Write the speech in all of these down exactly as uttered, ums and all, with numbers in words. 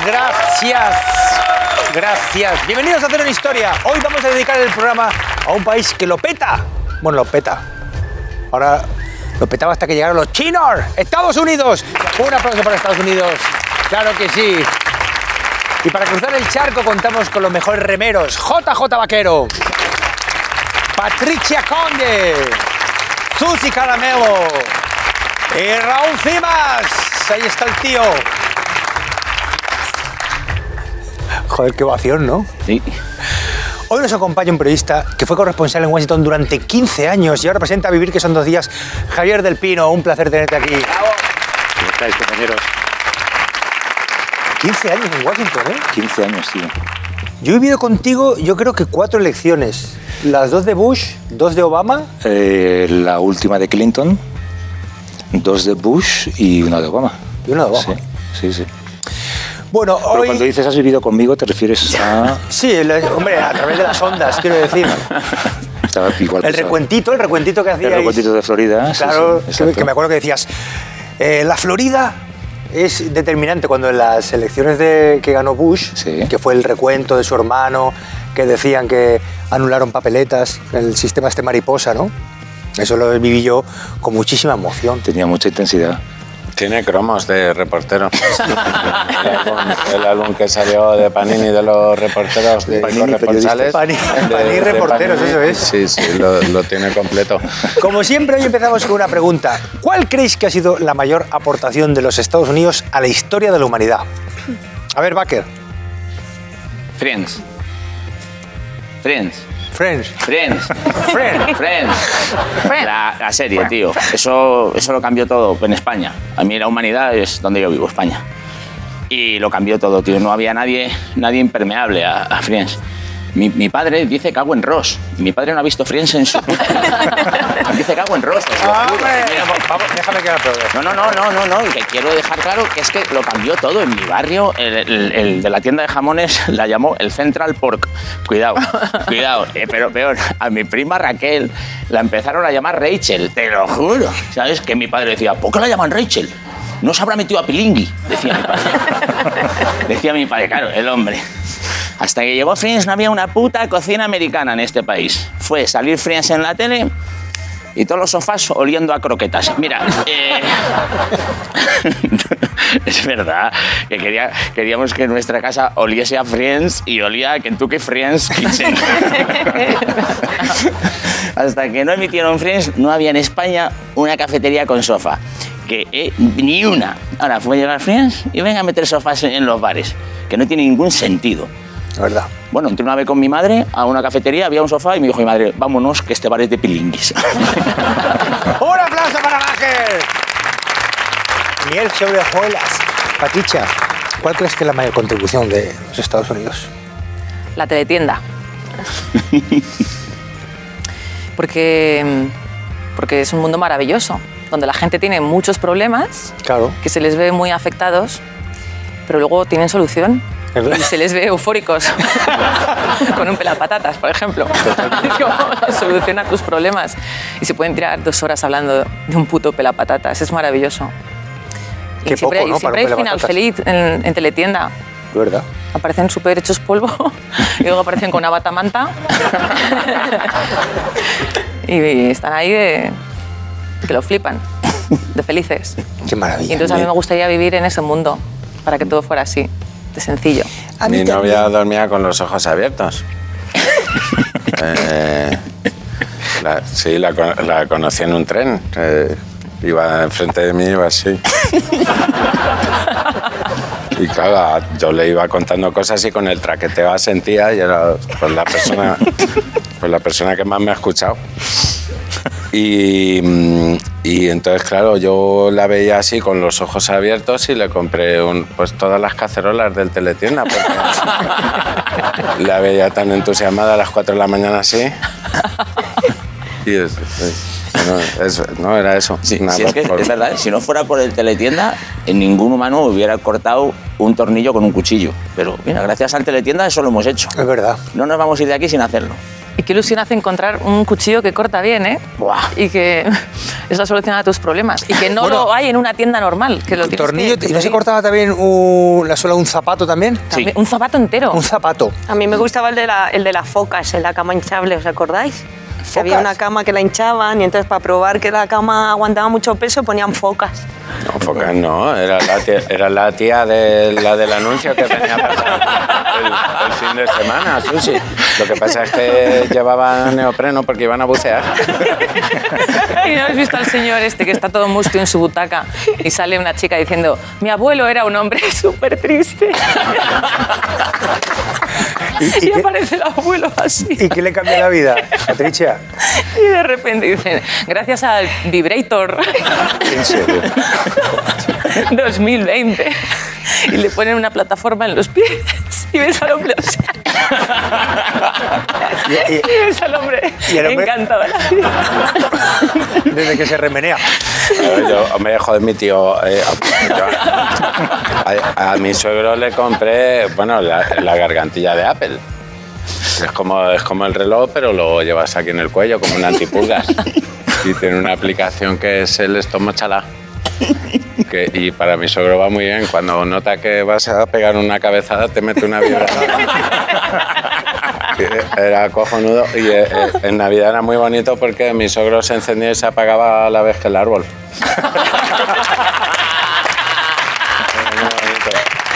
Gracias. Gracias. Bienvenidos a Hacer una Historia. Hoy vamos a dedicar el programa a un país que lo peta. Bueno, lo peta. Ahora lo petaba hasta que llegaron los chinos. Estados Unidos. Un aplauso para Estados Unidos. Claro que sí. Y para cruzar el charco contamos con los mejores remeros. J J Vaquero. Patricia Conde. Susi Caramelo. Y Raúl Cimas. Ahí está el tío. Joder, qué ovación, ¿no? Sí. Hoy nos acompaña un periodista que fue corresponsal en Washington durante quince años y ahora presenta Vivir, que son dos días. Javier del Pino, un placer tenerte aquí. ¡Bravo! ¿Cómo estáis, compañeros? quince años en Washington, ¿eh? quince años, sí. Yo he vivido contigo, yo creo que cuatro elecciones. Las dos de Bush, dos de Obama. Eh, la última de Clinton, dos de Bush y una de Obama. Y una de Obama. Sí, sí, sí. Bueno, Pero hoy... cuando dices has vivido conmigo, ¿te refieres a...? Sí, la- hombre, a través de las ondas, quiero decir. Estaba igual El que recuentito, el recuentito que hacíais. El recuentito de Florida. sí, Claro, sí, que, exacto. que me acuerdo que decías, eh, la Florida es determinante cuando en las elecciones de, que ganó Bush, Sí. que fue el recuento de su hermano, que decían que anularon papeletas, el sistema este mariposa, ¿no? Eso lo viví yo con muchísima emoción. Tenía mucha intensidad. Tiene cromos de reportero. el, álbum, el álbum que salió de Panini de los reporteros de Panini, corresponsales. Panini, de- Panini de reporteros, Panini. eso es. Sí, sí, lo, lo tiene completo. Como siempre, hoy empezamos con una pregunta. ¿Cuál creéis que ha sido la mayor aportación de los Estados Unidos a la historia de la humanidad? A ver, Baker. Friends. Friends. Friends. Friends. Friends. Friends. La, la serie, tío. Eso, eso lo cambió todo en España. A mí la humanidad es donde yo vivo, España. Y lo cambió todo, tío. No había nadie, nadie impermeable a, a Friends. Mi, mi padre dice cago en Ross. Mi padre no ha visto Friends en su... dice cago en Ross. te lo juro. ¡Hombre! Mira, Vamos, déjame que la pruebe. No, no, no, no, no, no. Y que quiero dejar claro que es que lo cambió todo. En mi barrio, el, el- el de la tienda de jamones la llamó el Central Pork. Cuidado, cuidado. Eh, pero peor, a mi prima Raquel la empezaron a llamar Rachel, te lo juro. ¿Sabes? Que mi padre decía, ¿por qué la llaman Rachel? No se habrá metido a Pilingui, decía mi padre. Decía mi padre, claro, el hombre. Hasta que llegó Friends no había una puta cocina americana en este país. Fue salir Friends en la tele y todos los sofás oliendo a croquetas. Mira, eh... es verdad que quería, queríamos que nuestra casa oliese a Friends y olía a Kentucky Friends Kitchen. Hasta que no emitieron Friends no había en España una cafetería con sofá. Que eh, ni una. Ahora fue a llegar Friends y venga a meter sofás en los bares, que no tiene ningún sentido. La verdad. Bueno, entré una vez con mi madre a una cafetería, había un sofá y me dijo mi madre, vámonos, que este bar es de pilinguis. ¡Un aplauso para Baker! Miel sobre hojuelas. Patricia, ¿cuál crees que es la mayor contribución de los Estados Unidos? La teletienda. Porque, porque es un mundo maravilloso, donde la gente tiene muchos problemas, Claro. que se les ve muy afectados, pero luego tienen solución. Es verdad. Y se les ve eufóricos. Con un pelapatatas, por ejemplo. Es como, soluciona tus problemas. Y se pueden tirar dos horas hablando de un puto pelapatatas. Es maravilloso. Qué y siempre, poco, ¿no? y siempre para hay un final pelapatatas. feliz en, en teletienda. De verdad. Aparecen súper hechos polvo y luego aparecen con una batamanta y están ahí de que lo flipan, de felices. Qué maravilla. Y entonces a mí me gustaría vivir en ese mundo para que todo fuera así, de sencillo. A mí Mi también. novia dormía con los ojos abiertos. Eh, la- sí, la, con- la conocí en un tren. Eh, iba enfrente de mí, iba así. Y claro, yo le iba contando cosas y con el traqueteo asentía y era pues, la, persona, pues, la persona que más me ha escuchado. Y, mm, y entonces, claro, yo la veía así con los ojos abiertos y le compré un, pues todas las cacerolas del teletienda porque la veía tan entusiasmada a las cuatro de la mañana así. Y es, es- no, eso, no, era eso. Sí, Nada, sí, es que por- es verdad, si no fuera por el teletienda, en ningún humano hubiera cortado un tornillo con un cuchillo. Pero mira, gracias al teletienda eso lo hemos hecho. Es verdad. No nos vamos a ir de aquí sin hacerlo. Y qué ilusión hace encontrar un cuchillo que corta bien, ¿eh? Buah. Y que es la solución a tus problemas. Y que no Bueno, lo hay en una tienda normal. Que lo tienes Tornillo, que- ¿y no se cortaba también un- la suela de un zapato también? También- Un zapato entero. Un zapato. A mí me gustaba el de, la, el de las focas, en la cama hinchable, ¿os acordáis? Que había una cama que la hinchaban y entonces para probar que la cama aguantaba mucho peso ponían focas. No, focas no, era la tía, era la tía de la del anuncio que venía a pasar el, el fin de semana, Susi. Lo que pasa es que llevaban neopreno porque iban a bucear. ¿Y no habéis visto al señor este que está todo mustio en su butaca y sale una chica diciendo, mi abuelo era un hombre súper triste? ¿Y, y Y qué, aparece el abuelo así. ¿Y qué le cambia la vida, Patricia? Y de repente dicen, gracias al Vibrator En serio. dos mil veinte. Y le ponen una plataforma en los pies y ves al hombre así. Y- y- Y ves al hombre, y el hombre- encantado de la vida. Desde que se remenea. Claro, yo, hombre, joder, mi tío. eh, yo- a, a mi suegro le compré, bueno, la, la gargantilla de Apple. Es como, es como el reloj, pero lo llevas aquí en el cuello, como un antipulgas. Y tiene una aplicación que es el estomochala. Que, y para mi suegro va muy bien. Cuando nota que vas a pegar una cabezada, te mete una vibración. Era cojonudo. Y eh, eh, en Navidad era muy bonito porque mi suegro se encendía y se apagaba a la vez que el árbol. Era muy bonito.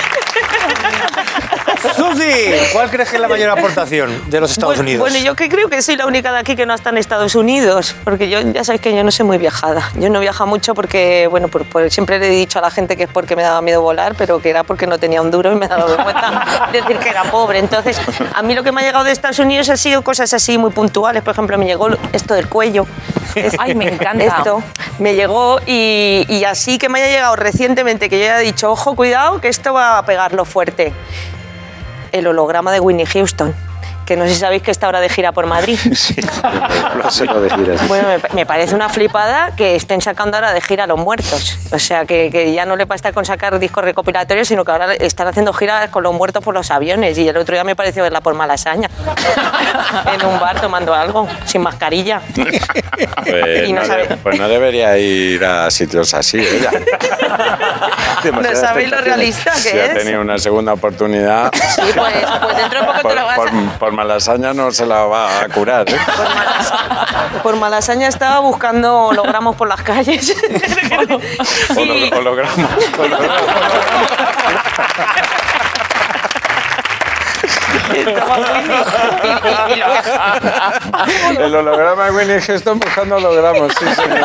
Susi, ¿cuál crees que es la mayor aportación de los Estados bueno, Unidos? Bueno, yo que creo que soy la única de aquí que no está en Estados Unidos, porque yo ya sabéis que yo no soy muy viajada. Yo no viajo mucho porque, bueno, por, por- siempre le he dicho a la gente que es porque me daba miedo volar, pero que era porque no tenía un duro y me he dado cuenta de decir que era pobre. Entonces, a mí lo que me ha llegado de Estados Unidos ha sido cosas así muy puntuales. Por ejemplo, me llegó esto del cuello. Es- Ay, me encanta. Esto me llegó y, y así que me haya llegado recientemente, que yo haya dicho, ojo, cuidado, que esto va a pegarlo fuerte. El holograma de Whitney Houston, que no sé si sabéis que está ahora de gira por Madrid. Sí, lo sé no decir así. Bueno, me, me parece una flipada que estén sacando ahora de gira a los muertos. O sea, que, que ya no le basta con sacar discos recopilatorios, sino que ahora están haciendo giras con los muertos por los aviones. Y el otro día me pareció verla por Malasaña, en un bar tomando algo, sin mascarilla. Pues, Y no no sabe- de- pues no debería ir a sitios así, ella. ¿No sabéis lo realista que Si ha es? tenido una segunda oportunidad, Sí, pues, pues dentro de poco te por, lo vas por, a... por malasaña no se la va a curar. ¿eh? Por Malasaña, por Malasaña estaba buscando hologramos por las calles. Y- Holo- holograma. estaba Whitney. Y- y- y lo- El holograma de Winnie Houston buscando hologramas, sí, señor.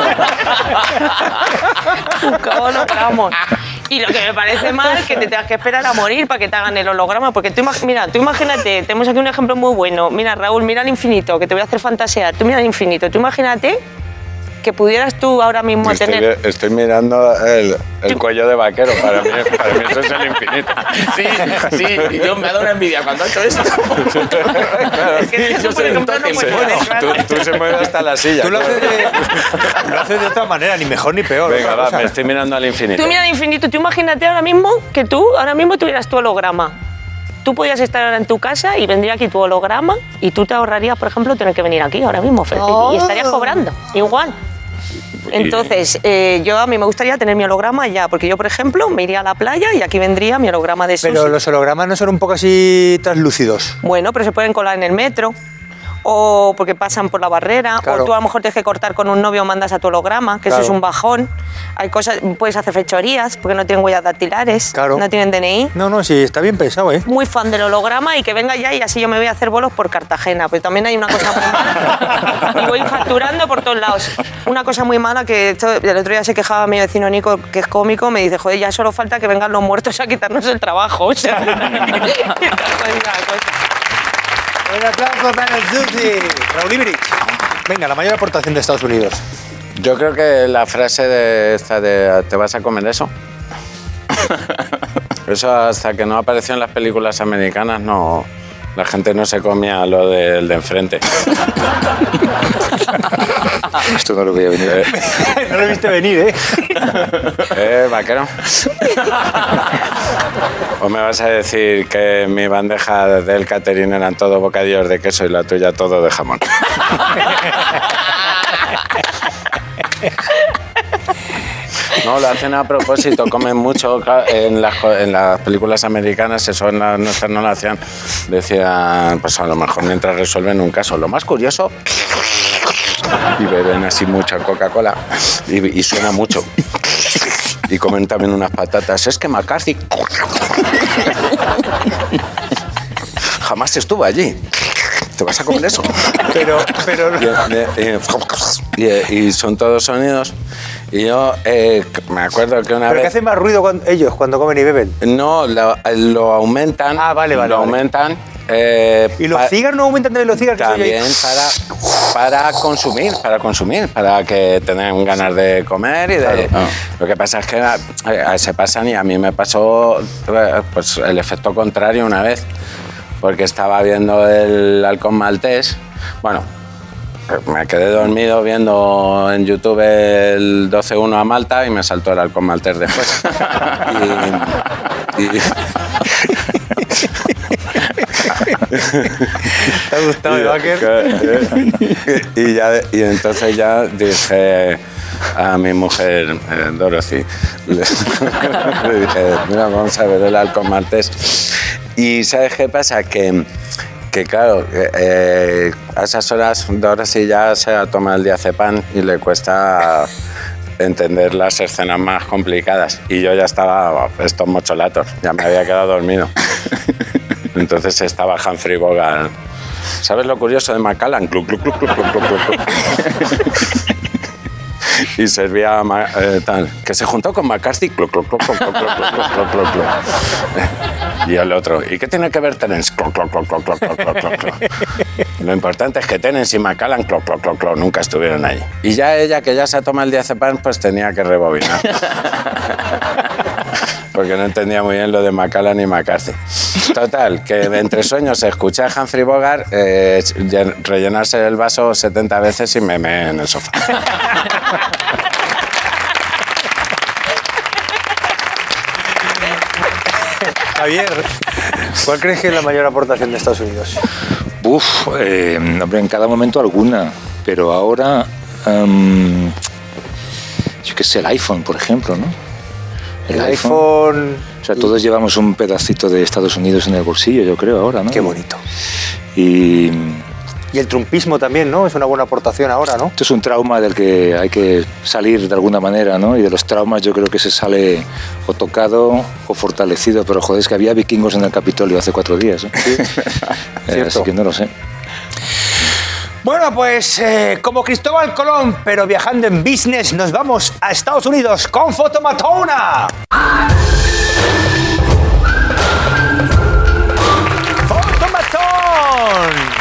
buscaba hologramos. Y lo que me parece mal es que te tengas que esperar a morir para que te hagan el holograma. Porque tú, imag- mira, tú imagínate, tenemos aquí un ejemplo muy bueno. Mira, Raúl, mira al infinito, que te voy a hacer fantasear. Tú mira al infinito. Tú imagínate que pudieras tú ahora mismo Estoy, tener... estoy mirando el, el cuello de vaquero. Para mí, para mí eso es el infinito. Sí, sí, yo me da una envidia cuando ha hecho esto. Es que eso, Yo por soy un ejemplo, no tótem, puede bueno, ser, claro. Tú, tú se mueves hasta la silla. Tú lo claro. haces, de, lo haces de otra manera, ni mejor ni peor. Venga, otra va, cosa. me estoy mirando al infinito. Tú mira al infinito. Tú imagínate ahora mismo que tú ahora mismo tuvieras tu holograma. Tú podías estar ahora en tu casa y vendría aquí tu holograma y tú te ahorrarías, por ejemplo, tener que venir aquí ahora mismo, Fer, Oh. y estarías cobrando igual. Entonces, eh, yo a mí me gustaría tener mi holograma ya, porque yo, por ejemplo, me iría a la playa y aquí vendría mi holograma de Susi. Pero los hologramas no son un poco así translúcidos. Bueno, pero se pueden colar en el metro. O porque pasan por la barrera, Claro. o tú a lo mejor tienes que cortar con un novio, mandas a tu holograma, que Claro. eso es un bajón. Hay cosas, puedes hacer fechorías porque no tienen huellas dactilares, Claro. no tienen D N I. No, no, sí, está bien pensado, ¿eh? Muy fan del holograma y que venga ya y así yo me voy a hacer bolos por Cartagena. Pero también hay una cosa muy mala y voy facturando por todos lados. Una cosa muy mala que esto, el otro día se quejaba mi vecino Nico, que es cómico, me dice, joder, ya solo falta que vengan los muertos a quitarnos el trabajo. O sea, Un aplauso para el Susi. Raúl Ibrich. Venga, la mayor aportación de Estados Unidos. Yo creo que la frase de esta de ¿te vas a comer eso? Eso hasta que no apareció en las películas americanas no, la gente no se comía lo del de enfrente. Esto no lo voy a venir. Eh, No lo viste venir, ¿eh? ¿Eh, vaquero? ¿O me vas a decir que mi bandeja del catering eran todo bocadillos de queso y la tuya todo de jamón? No, lo hacen a propósito, comen mucho. En las, en las películas americanas, eso en las nuestras no lo hacían. Decían, pues a lo mejor mientras resuelven un caso. Lo más curioso, y beben así mucha Coca-Cola, y, y suena mucho. Y comen también unas patatas. Es que McCarthy jamás estuvo allí. ¿Te vas a comer eso? Pero, pero... Y, y, y son todos sonidos. Y yo eh, me acuerdo que una ¿Pero vez... qué hacen más ruido cuando, ellos cuando comen y beben? No, lo, lo aumentan. Ah, vale, vale. Lo vale. aumentan. Eh, ¿Y los pa- cigarros no aumentan también los cigarros? También para, para consumir, para consumir, para que tengan ganas de comer y de... Claro. Ah. Lo que pasa es que eh, se pasan y a mí me pasó eh, pues, el efecto contrario una vez, porque estaba viendo el halcón maltés. Bueno, me quedé dormido viendo en YouTube el doce uno a Malta y me saltó el halcón maltés después. y, y, ¿Te ha gustado, Baker? y, ya, y entonces ya dije a mi mujer, eh, Dorothy, le, le dije, mira, vamos a ver el halcón maltés. Y ¿sabes qué pasa? Que, que claro, eh, a esas horas Dorothy ya se ha tomado el diazepam y le cuesta entender las escenas más complicadas. Y yo ya estaba, estos mocholatos, ya me había quedado dormido. Entonces estaba Humphrey Bogart. ¿Sabes lo curioso de Macallan? Cluc, cluc, cluc, cluc, cluc, cluc, cluc. Y servía eh, tal, que se juntó con McCarthy. Cluc, cluc, cluc, cluc, cluc, cluc, cluc, cluc, cluc, cluc. Y el otro, ¿y qué tiene que ver Terence? Cluc, cluc, cluc, cluc, cluc, cluc, cluc, cluc. Lo importante es que Terence y Macallan cluc, cluc, cluc, cluc, nunca estuvieron ahí. Y ya ella, que ya se ha tomado el diazepam, pues tenía que rebobinar. Porque no entendía muy bien lo de Macallan y McCarthy. Total, que entre sueños escuché a Humphrey Bogart eh, rellenarse el vaso setenta veces y me meé en el sofá. Javier, ¿cuál crees que es la mayor aportación de Estados Unidos? Uf, eh, hombre, en cada momento alguna, pero ahora, um, yo qué sé, el iPhone, por ejemplo, ¿no? El, el iPhone... iPhone... O sea, todos llevamos un pedacito de Estados Unidos en el bolsillo, yo creo, ahora, ¿no? Qué bonito. Y... Y el trumpismo también, ¿no? Es una buena aportación ahora, ¿no? Esto es un trauma del que hay que salir de alguna manera, ¿no? Y de los traumas yo creo que se sale o tocado o fortalecido. Pero, joder, es que había vikingos en el Capitolio hace cuatro días, ¿eh? Sí. eh, así que no lo sé. Bueno, pues eh, como Cristóbal Colón, pero viajando en business, nos vamos a Estados Unidos con Fotomatona. ¡Fotomatón!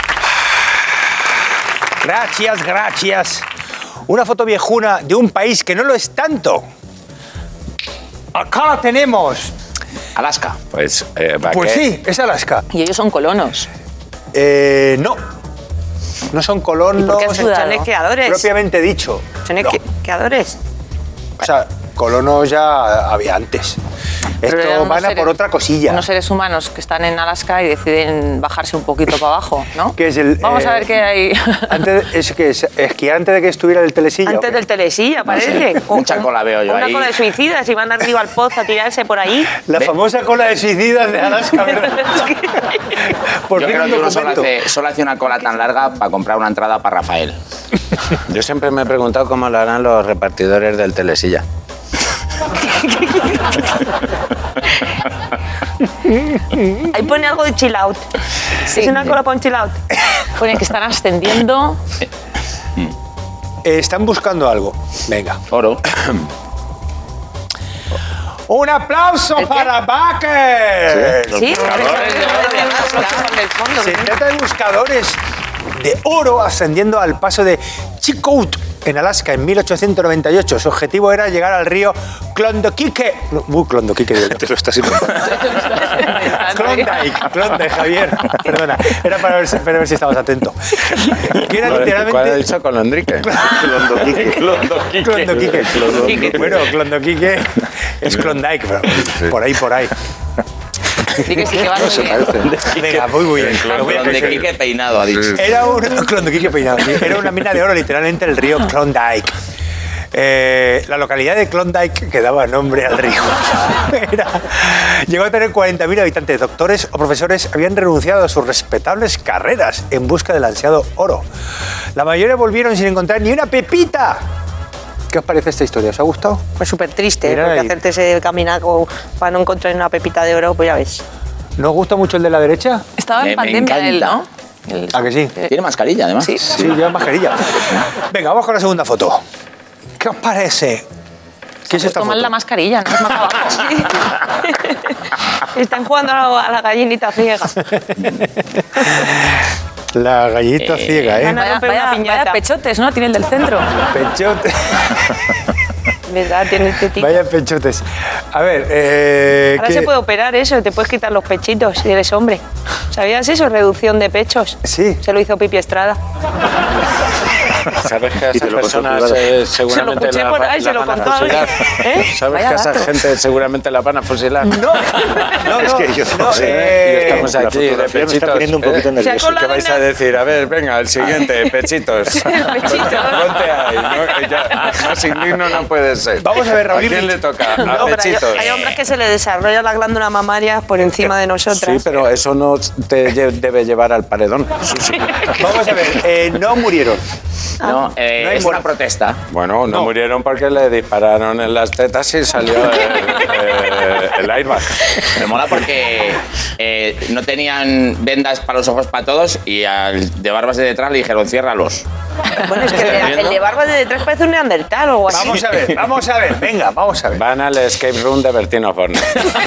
Gracias, gracias. Una foto viejuna de un país que no lo es tanto. Acá la tenemos. Alaska. Pues, eh, ¿para Pues qué? sí, es Alaska. Y ellos son colonos. Eh, no. No son colonos. ¿Y por qué has dudado? Son esquiadores. Propiamente dicho. Son No. esquiadores. O sea, colonos ya había antes. Pero eran Esto unos van a seres- por otra cosilla. Unos seres humanos que están en Alaska y deciden bajarse un poquito para abajo, ¿no? Que es el, Vamos a eh, ver qué hay. Antes, es que es, esquiar antes de que estuviera el telesilla. Antes ¿o qué? del telesilla, parece. O- Mucha cola veo yo Una ahí. cola de suicidas y van arriba al pozo a tirarse por ahí. La Ve- famosa cola de suicidas de Alaska, ¿verdad? Por Yo fin creo un que uno solo documento. hace, solo hace una cola tan larga para comprar una entrada para Rafael. Yo siempre me he preguntado cómo lo harán los repartidores del telesilla. Ahí pone algo de chill out. Sí. Es una cola para un chill out. Pone que están ascendiendo. Eh, están buscando algo. Venga. Oro. ¡Un aplauso ¿El qué? para Baker! Sí, buscadores de oro de Alaska. En el fondo. Se trata de buscadores de oro ascendiendo al paso de Chilkoot en Alaska en mil ochocientos noventa y ocho. Su objetivo era llegar al río Klondike. No, uh, Klondike, digo yo. Te lo estás inventando. Klondike, Klondike, Javier. Perdona, era para ver, si- para ver si estabas atento. Que era ¿Cuál ha literalmente... dicho Colondrique? Klondike. Bueno, Klondike es Klondike, pero por ahí, por ahí. Sí que sí que van muy bien. Venga, muy, muy bien. Lo voy a Donde conseguir. Quique peinado ha dicho. Era un Klondike peinado, sí. Era una mina de oro, literalmente el río Klondike. Eh, la localidad de Klondike, que daba nombre al río, era, llegó a tener cuarenta mil habitantes. Doctores o profesores habían renunciado a sus respetables carreras en busca del ansiado oro. La mayoría volvieron sin encontrar ni una pepita. ¿Qué os parece esta historia? ¿Os ha gustado? Pues súper triste, Mira porque ahí. hacerte ese caminaco para no encontrar una pepita de oro, pues ya ves. ¿No os gusta mucho el de la derecha? Estaba Me- en me pandemia él, ¿no? encanta. El- ¿A que sí? Tiene mascarilla, además. Sí. Sí, lleva mascarilla. Venga, vamos con la segunda foto. ¿Qué os parece? ¿Qué es esta Toman foto? la mascarilla, ¿no? Es más abajo. Están jugando a la, a la gallinita ciega. La gallinita Eh, ciega, ¿eh? Van a Vaya, romper una vaya- piñata. vaya pechotes, ¿no? Tiene el del centro. Pechote. ¿Verdad? Tiene tetita. Vaya pechotes. A ver, eh, Ahora ¿qué- se puede operar eso, te puedes quitar los pechitos si eres hombre. ¿Sabías eso? Reducción de pechos. Sí. Se lo hizo Pipi Estrada. ¿Sabes que a Y te esas lo contó personas privado. eh, Se lo seguramente escuché la, por va- ahí, la se lo van a contó alguien. fusilar? ¿Eh? ¿Sabes Vaya que a esa dato. gente seguramente la van a fusilar? No, no, no. Es que yo no no, sé. eh, Y estamos la aquí de fotografía me está pechitos. poniendo un poquito ¿eh? nervioso. Se ha colado ¿Qué vais una- a decir? A ver, venga, el siguiente, pechitos. Ponte ahí. No, ya, más indigno no puede ser. Vamos a ver, Raúl. ¿A quién le toca? A No, pero hay, pechitos. hay hombres que se le desarrolla la glándula mamaria por encima de nosotras. Sí, pero eso no te lle- debe llevar al paredón. Vamos a ver, eh, no murieron. No, eh, No hay es muerte. una protesta. Bueno, no, No. murieron porque le dispararon en las tetas y salió el, eh, el airbag. Me mola porque eh, no tenían vendas para los ojos para todos y al de barbas de detrás le dijeron ciérralos. Bueno, es que el, el de barba de detrás parece un neandertal o algo así. Vamos a ver, vamos a ver, venga, vamos a ver. Van al escape room de Bertín Osborne.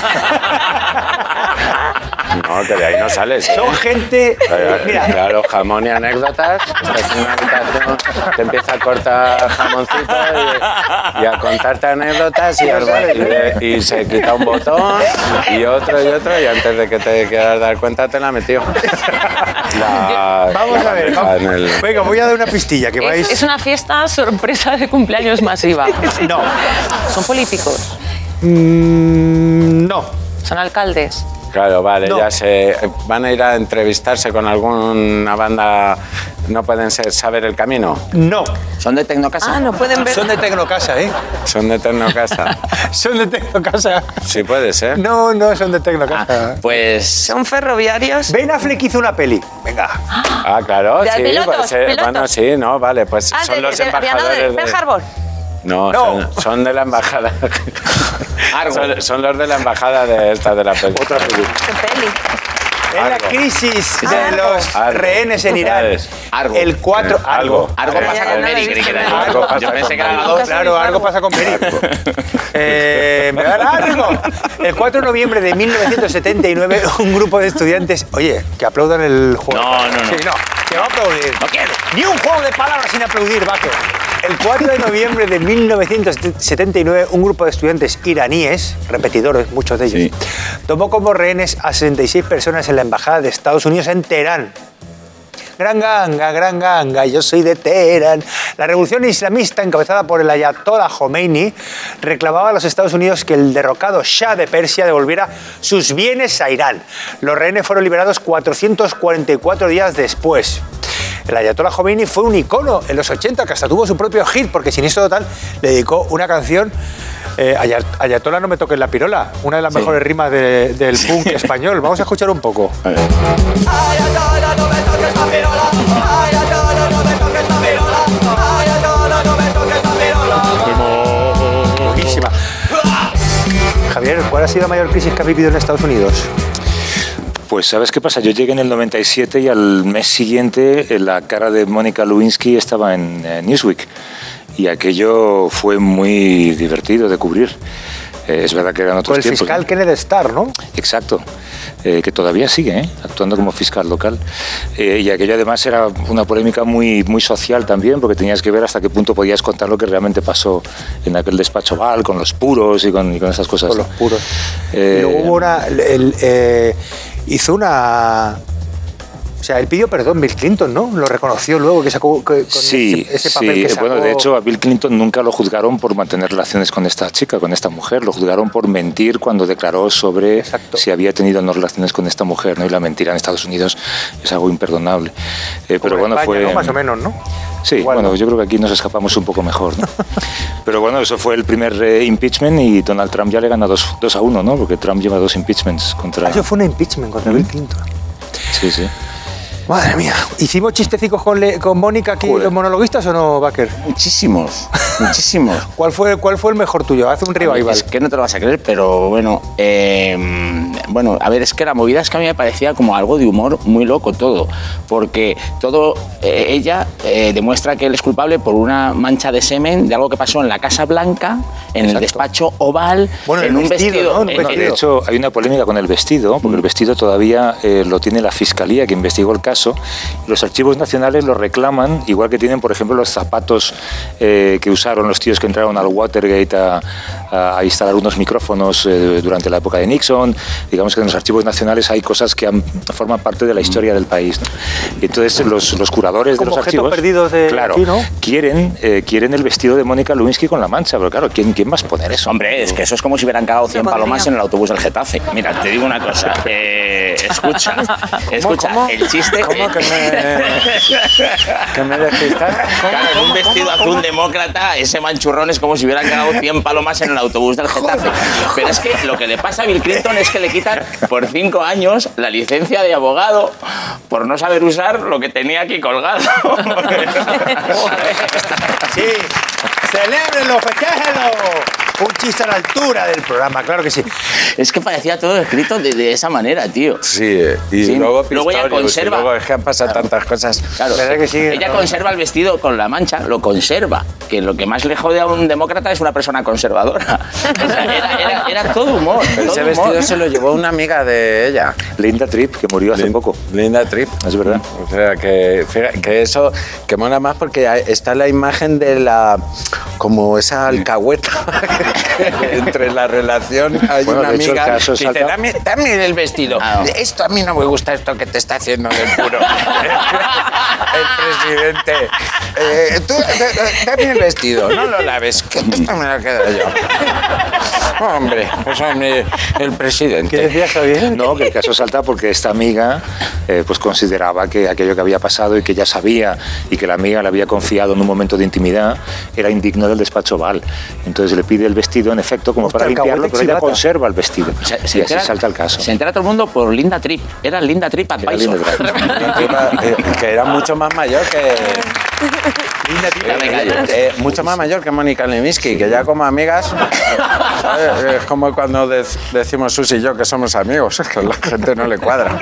No, que de ahí no sales. Son gente. Mira, Claro, jamón y anécdotas. Estás en una habitación, te empieza a cortar jamoncito y, y a contarte anécdotas y, al- y, de- y se quita un botón y otro y otro y antes de que te quieras dar cuenta te la metió. La- vamos la a ver. deja Vamos. en el- Venga, voy a dar una pistilla que vais. Es, es una fiesta sorpresa de cumpleaños masiva. No. Son políticos, Mm, no. son alcaldes. Claro, vale, No. ya se van a ir a entrevistarse con alguna banda. ¿No pueden ser saber el camino? No. Son de Tecnocasa. Ah, no pueden ver. Son de Tecnocasa, ¿eh? Son de Tecnocasa. Son de Tecnocasa. Sí puede ser. No, no son de Ah, Tecnocasa. pues Son ferroviarios. Ben Affleck hizo una peli. Venga. Ah, claro, De sí. pilotos, pues, eh, pilotos. bueno, sí, no, vale, pues Ah, son de, los de, de embajadores aviadores, de... Pearl Harbor. No, No. Son, son de la embajada. Argo. Son, son los de la embajada de esta de la película. Otra película. Qué peli. En la Argo. crisis de Argo. los Argo. rehenes en Irán. ¿Sabes? Argo. El cuatro. Eh, Algo. Algo Ya, pasa ya, con no la he Mary, creí visto, que era no. yo. Algo pasa Yo pensé con que era la Mary. dos. Nunca Claro, Algo. algo pasa con Mary. Eh, me da algo. El cuatro de noviembre de mil novecientos setenta y nueve, un grupo de estudiantes. Oye, que aplaudan el juego. No, no, no. Sí, no, que va a aplaudir. No quiero. Ni un juego de palabras sin aplaudir, Baco. El cuatro de noviembre de mil novecientos setenta y nueve, un grupo de estudiantes iraníes, repetidores, muchos de ellos, tomó como rehenes a sesenta y seis personas en la embajada de Estados Unidos en Teherán. Gran ganga, gran ganga, yo soy de Teherán. La revolución islamista, encabezada por el ayatollah Khomeini, reclamaba a los Estados Unidos que el derrocado Shah de Persia devolviera sus bienes a Irán. Los rehenes fueron liberados cuatrocientos cuarenta y cuatro días después. El ayatollah Khomeini fue un icono en los ochenta, que hasta tuvo su propio hit, porque Siniestro Total le dedicó una canción, eh, Ayat- Ayatollah no me toques la pirola, una de las mejores rimas de- del punk español. Vamos a escuchar un poco. Buenísima. Javier, ¿cuál ha sido la mayor crisis que has vivido en Estados Unidos? Pues ¿sabes qué pasa? Yo llegué en el noventa y siete y al mes siguiente eh, la cara de Mónica Lewinsky estaba en eh, Newsweek y aquello fue muy divertido de cubrir. Eh, es verdad que eran otros Fue el tiempos, fiscal ¿no? Kenneth Starr, ¿no? Exacto, eh, que todavía sigue ¿eh? actuando como fiscal local. Eh, y aquello además era una polémica muy, muy social también, porque tenías que ver hasta qué punto podías contar lo que realmente pasó en aquel despacho Oval, con los puros y con, y con esas cosas. Con ¿no? los puros. Eh, y luego hubo una... el- eh, hizo una... O sea, él pidió perdón Bill Clinton, ¿no? Lo reconoció luego que sacó que- con Sí, ese, ese papel sí. que sacó. Bueno, de hecho, a Bill Clinton nunca lo juzgaron por mantener relaciones con esta chica, con esta mujer. Lo juzgaron por mentir cuando declaró sobre Exacto. si había tenido o no relaciones con esta mujer, ¿no? Y la mentira en Estados Unidos es algo imperdonable. Eh, pero Como bueno, España, fue... ¿no? Más o menos, ¿no? Sí, Igual bueno, no. yo creo que aquí nos escapamos un poco mejor, ¿no? Pero bueno, eso fue el primer eh, impeachment y Donald Trump ya le gana dos a uno, ¿no? Porque Trump lleva dos impeachments contra... Ah, eso fue un impeachment contra Bill Clinton. Sí, sí. Madre mía. ¿Hicimos chistecicos con, Le- con Mónica aquí, Joder. los monologuistas o no, Baker? Muchísimos, muchísimos. ¿Cuál fue, ¿Cuál fue el mejor tuyo? Haz un revival. Es que no te lo vas a creer, pero bueno, eh, bueno, a ver, es que la movida es que a mí me parecía como algo de humor muy loco todo, porque todo, eh, ella eh, demuestra que él es culpable por una mancha de semen de algo que pasó en la Casa Blanca, en el despacho oval, Bueno, en el un vestido, vestido. ¿no? En un en- Bueno, en- de hecho, hay una polémica con el vestido, porque el vestido todavía eh, lo tiene la Fiscalía que investigó el caso. Y los archivos nacionales lo reclaman, igual que tienen, por ejemplo, los zapatos eh, que usaron los tíos que entraron al Watergate a, a- a instalar unos micrófonos eh, durante la época de Nixon. Digamos que en los archivos nacionales hay cosas que han- forman parte de la historia del país, ¿no? Y entonces los, los curadores de Como los objetos archivos perdidos de claro, aquí, ¿no? quieren, eh, quieren el vestido de Mónica Lewinsky con la mancha, pero claro, ¿quién, quién más poner eso? Hombre, es que eso es como si hubieran cagado cien podría. palomas en el autobús del Getafe. Mira, te digo una cosa. eh, escucha, escucha, cómo? el chiste... ¿Cómo que me, que me decís? Claro, en un vestido azul demócrata, ese manchurrón es como si hubieran cagado cien palomas en el autobús del Getafe. Pero es que lo que le pasa a Bill Clinton es que le quitan por cinco años la licencia de abogado por no saber usar lo que tenía aquí colgado. Sí, celébrenlo, festéjenlo. Un chiste a la altura del programa, claro que sí. Es que parecía todo escrito de, de esa manera, tío. Sí, eh, y Sí, luego luego ella Pistorius, conserva. y luego es que han pasado tantas cosas. Claro, ¿Verdad que sí? ella conserva el vestido con la mancha, lo conserva. Que lo que más le jode a un demócrata es una persona conservadora. O sea, era, era- era todo humor. Ese todo vestido humor. se lo llevó una amiga de ella. Linda Tripp, que murió hace Lin- poco. Linda Tripp. Es verdad. O sea, que, fíjate, que eso, que mola más porque hay- está la imagen de la, como esa alcahueta entre la relación. Hay Bueno, una de hecho, el amiga caso que dice, salta- dame, dame el vestido. Ah, no. Esto a mí no me gusta, esto que te está haciendo del puro. El presidente. Eh, tú, d- dame el vestido, no lo laves, que esto me lo quedo yo. Hombre, eso es mi- el presidente. ¿Qué decías, Javier? No, que el caso salta porque esta amiga eh, pues consideraba que aquello que había pasado y que ya sabía y que la amiga le había confiado en un momento de intimidad era indigno del despacho oval. Entonces le pide el vestido, en efecto, como Hostia, para limpiarlo, alcahuete pero ella chivata. conserva el vestido. Se- se y así entera- salta el caso. Se entera todo el mundo por Linda Tripp. Era Linda Tripp Era Advisor. Linda Tripp. Que iba- eh, que era mucho más mayor que Linda Tripp, me callo. eh, mucho más mayor que Mónica Lewinsky, que ya como amigas ¿sabes? Es como cuando dec- decimos Susi y yo que somos amigos, es que a la gente no le cuadra.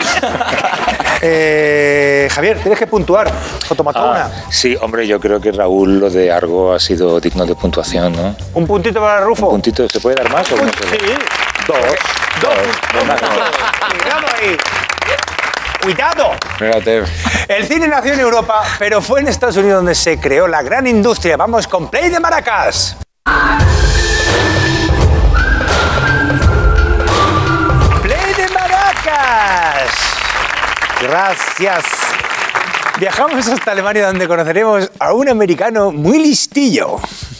Eh, Javier, tienes que puntuar. Fotomatona. Ah, sí, hombre, yo creo que Raúl, lo de Argo ha sido digno de puntuación, ¿no? Un puntito para Rufo. ¿Un puntito? ¿Se puede dar más o no se puede? Sí. Dos. Dos. Cuidado ahí. Cuidado. Fíjate, El cine nació en Europa, pero fue en Estados Unidos donde se creó la gran industria. Vamos con Play de Maracas. Play de Maracas. Gracias. Viajamos hasta Alemania donde conoceremos a un americano muy listillo.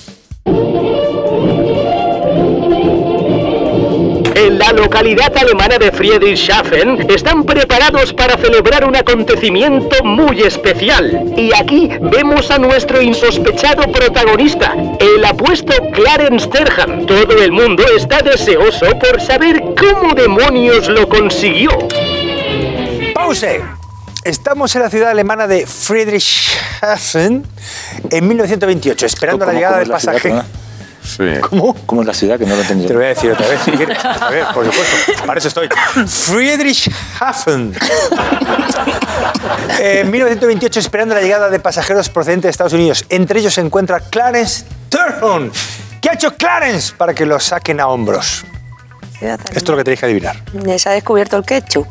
En la localidad alemana de Friedrichshafen están preparados para celebrar un acontecimiento muy especial. Y aquí vemos a nuestro insospechado protagonista, el apuesto Clarence Terham. Todo el mundo está deseoso por saber cómo demonios lo consiguió. Pause. Estamos en la ciudad alemana de Friedrichshafen en mil novecientos veintiocho, esperando la ¿Cómo- llegada cómo del es la ciudad, pasaje. perdona? sí. ¿Cómo? ¿Cómo es la ciudad? Que no lo he entendido. Te lo voy a decir otra vez, si quieres. A ver, por supuesto. Para eso estoy. Friedrichshafen. En mil novecientos veintiocho, esperando la llegada de pasajeros procedentes de Estados Unidos. Entre ellos se encuentra Clarence Terham. ¿Qué ha hecho Clarence para que lo saquen a hombros? Esto es lo que tenéis que adivinar. Ya se ha descubierto el ketchup.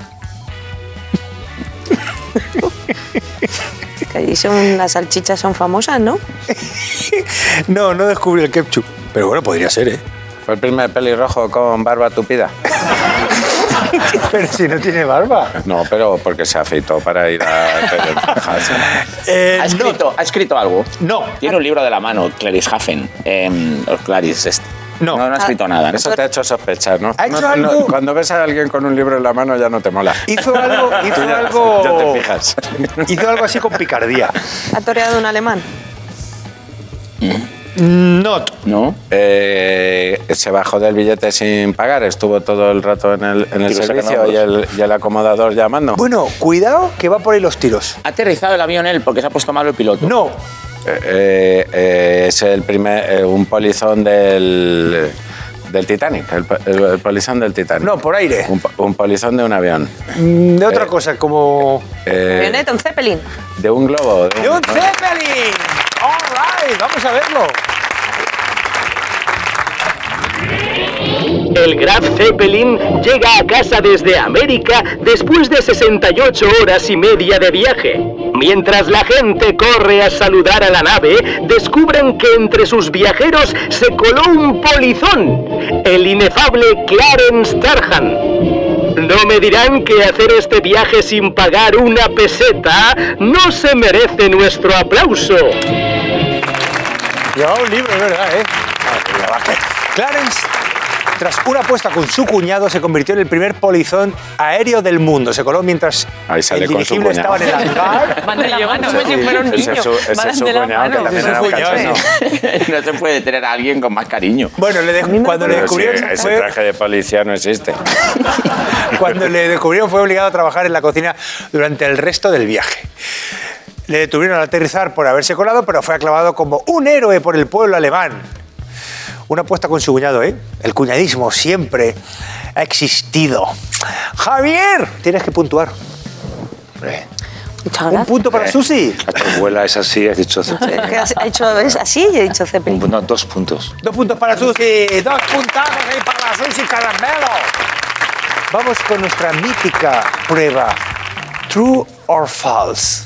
Que allí son, las salchichas son famosas, ¿no? No, no descubrí el ketchup. Pero bueno, podría ser, ¿eh? Fue el primer pelirrojo con barba tupida. Pero si no tiene barba. No, pero porque se afeitó para ir a Texas. Eh, ¿Ha escrito, ¿Ha escrito algo? No. Tiene un libro de la mano, Clarice Hafen. Eh, o Clarice, este. No. No, no ha escrito nada. ¿no? Eso te ha hecho sospechar, ¿no? ¿Ha hecho No- no- algo? Cuando ves a alguien con un libro en la mano ya no te mola. Hizo algo, hizo Tú ya- algo, ya te fijas. hizo algo así con picardía. ¿Ha toreado un alemán? No. ¿No? Eh, se bajó del billete sin pagar, estuvo todo el rato en el, en el Y lo sacan servicio a y el, y el acomodador llamando. Bueno, cuidado que va por ahí los tiros. Ha aterrizado el avión él porque se ha puesto malo el piloto. No. Eh, eh, eh, es el primer, eh, un polizón del, del Titanic, el, el- el polizón del Titanic. No, por aire. Un, po- un polizón de un avión. Mm, De otra Eh, cosa, como... Eh, Avioneta, un Zeppelin. de un globo. de ¡De un Zeppelin! ¡All right! ¡Vamos a verlo! El Graf Zeppelin llega a casa desde América después de sesenta y ocho horas y media de viaje. Mientras la gente corre a saludar a la nave, descubren que entre sus viajeros se coló un polizón, el inefable Clarence Tarhan. No me dirán que hacer este viaje sin pagar una peseta no se merece nuestro aplauso. Llevaba un libro, es verdad, ¿eh? Clarence, tras una apuesta con su cuñado, se convirtió en el primer polizón aéreo del mundo. Se coló mientras Ahí sale el con su dirigible estaba cuñado. en el hangar. Van de la mano, Ese- como si fuera un ese niño. es su- ese es Van su de la cuñado, que mano. también Ese es era su un cuñado, cachondo. No se puede tener a alguien con más cariño. Bueno, le de- cuando le Pero sí, descubrieron ese fue, traje de policía no existe. cuando le descubrieron fue obligado a trabajar en la cocina durante el resto del viaje. Le detuvieron al aterrizar por haberse colado, pero fue aclamado como un héroe por el pueblo alemán. Una apuesta con su cuñado, ¿eh? El cuñadismo siempre ha existido. Javier, tienes que puntuar. Muchas Un gracias. punto para Susi. La tu abuela es así, has dicho Zeppelin. Es que has- ha hecho es así y he dicho Zeppelin. No, dos puntos. Dos puntos para Susi, dos puntazos ahí para la Susi Caramelo. Vamos con nuestra mítica prueba. True or false.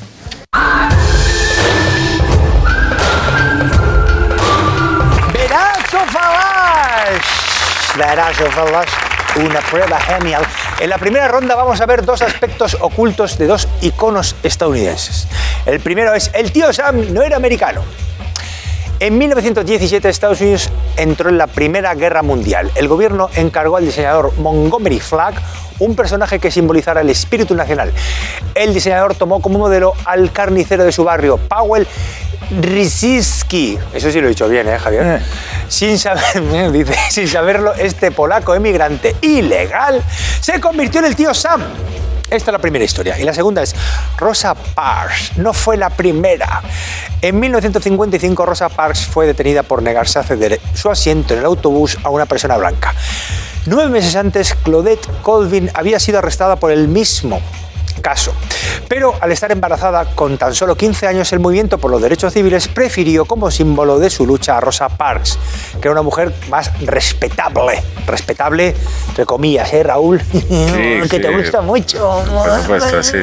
Veraz o falaz. Veraz o falaz. Una prueba genial. En la primera ronda vamos a ver dos aspectos ocultos de dos iconos estadounidenses. El primero es el tío Sam no era americano. En mil novecientos diecisiete Estados Unidos entró en la Primera Guerra Mundial. El gobierno encargó al diseñador Montgomery Flagg un personaje que simbolizara el espíritu nacional. El diseñador tomó como modelo al carnicero de su barrio, Powell Ryszewski. Eso sí lo he dicho bien, ¿eh, Javier? Sin saber, dice, sin saberlo, este polaco emigrante ilegal se convirtió en el tío Sam. Esta es la primera historia. Y la segunda es Rosa Parks. No fue la primera. En mil novecientos cincuenta y cinco, Rosa Parks fue detenida por negarse a ceder su asiento en el autobús a una persona blanca. Nueve meses antes, Claudette Colvin había sido arrestada por el mismo caso. Pero al estar embarazada con tan solo quince años, el movimiento por los derechos civiles prefirió como símbolo de su lucha a Rosa Parks, que era una mujer más respetable. Respetable, entre comillas, ¿eh, Raúl? que sí. te gusta mucho. Por supuesto, sí.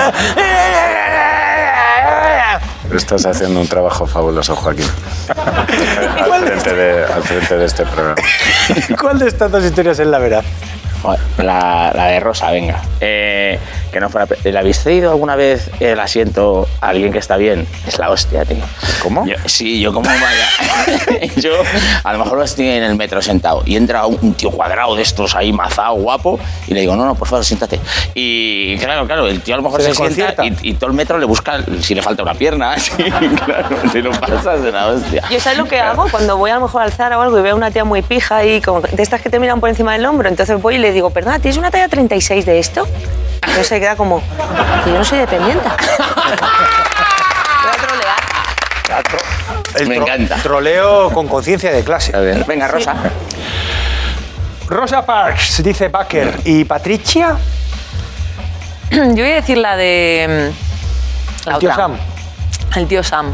Estás haciendo un trabajo fabuloso, Joaquín. al, frente de, al frente de este programa. ¿Cuál de estas dos historias es la verdad? Joder, La, la de Rosa, venga. Eh, que no fuera. ¿Le habéis cedido alguna vez el asiento a alguien que está bien? Es la hostia, tío. ¿Cómo? Yo- sí, yo como vaya. yo a lo mejor estoy en el metro sentado y entra un, un tío cuadrado de estos ahí, mazao, guapo, y le digo, no, no, por favor, siéntate. Y claro, claro, el tío a lo mejor Se se, sienta desconcierta. y, y todo el metro le busca si le falta una pierna. Sí, claro, te lo pasas de la hostia. Yo sabes lo que hago cuando voy a lo mejor al Zara o algo y veo a una tía muy pija y como de estas que te miran por encima del hombro, entonces voy y le digo, perdona, ¿tienes una talla treinta y seis de esto? Entonces se queda como, que yo no soy dependiente. Voy a trolear. El Me tro- encanta. Troleo con conciencia de clase. A ver, venga, Rosa. Rosa Parks, dice Baker. ¿Y Patricia? Yo voy a decir la de... mm, La El tío otra. Sam. El tío Sam.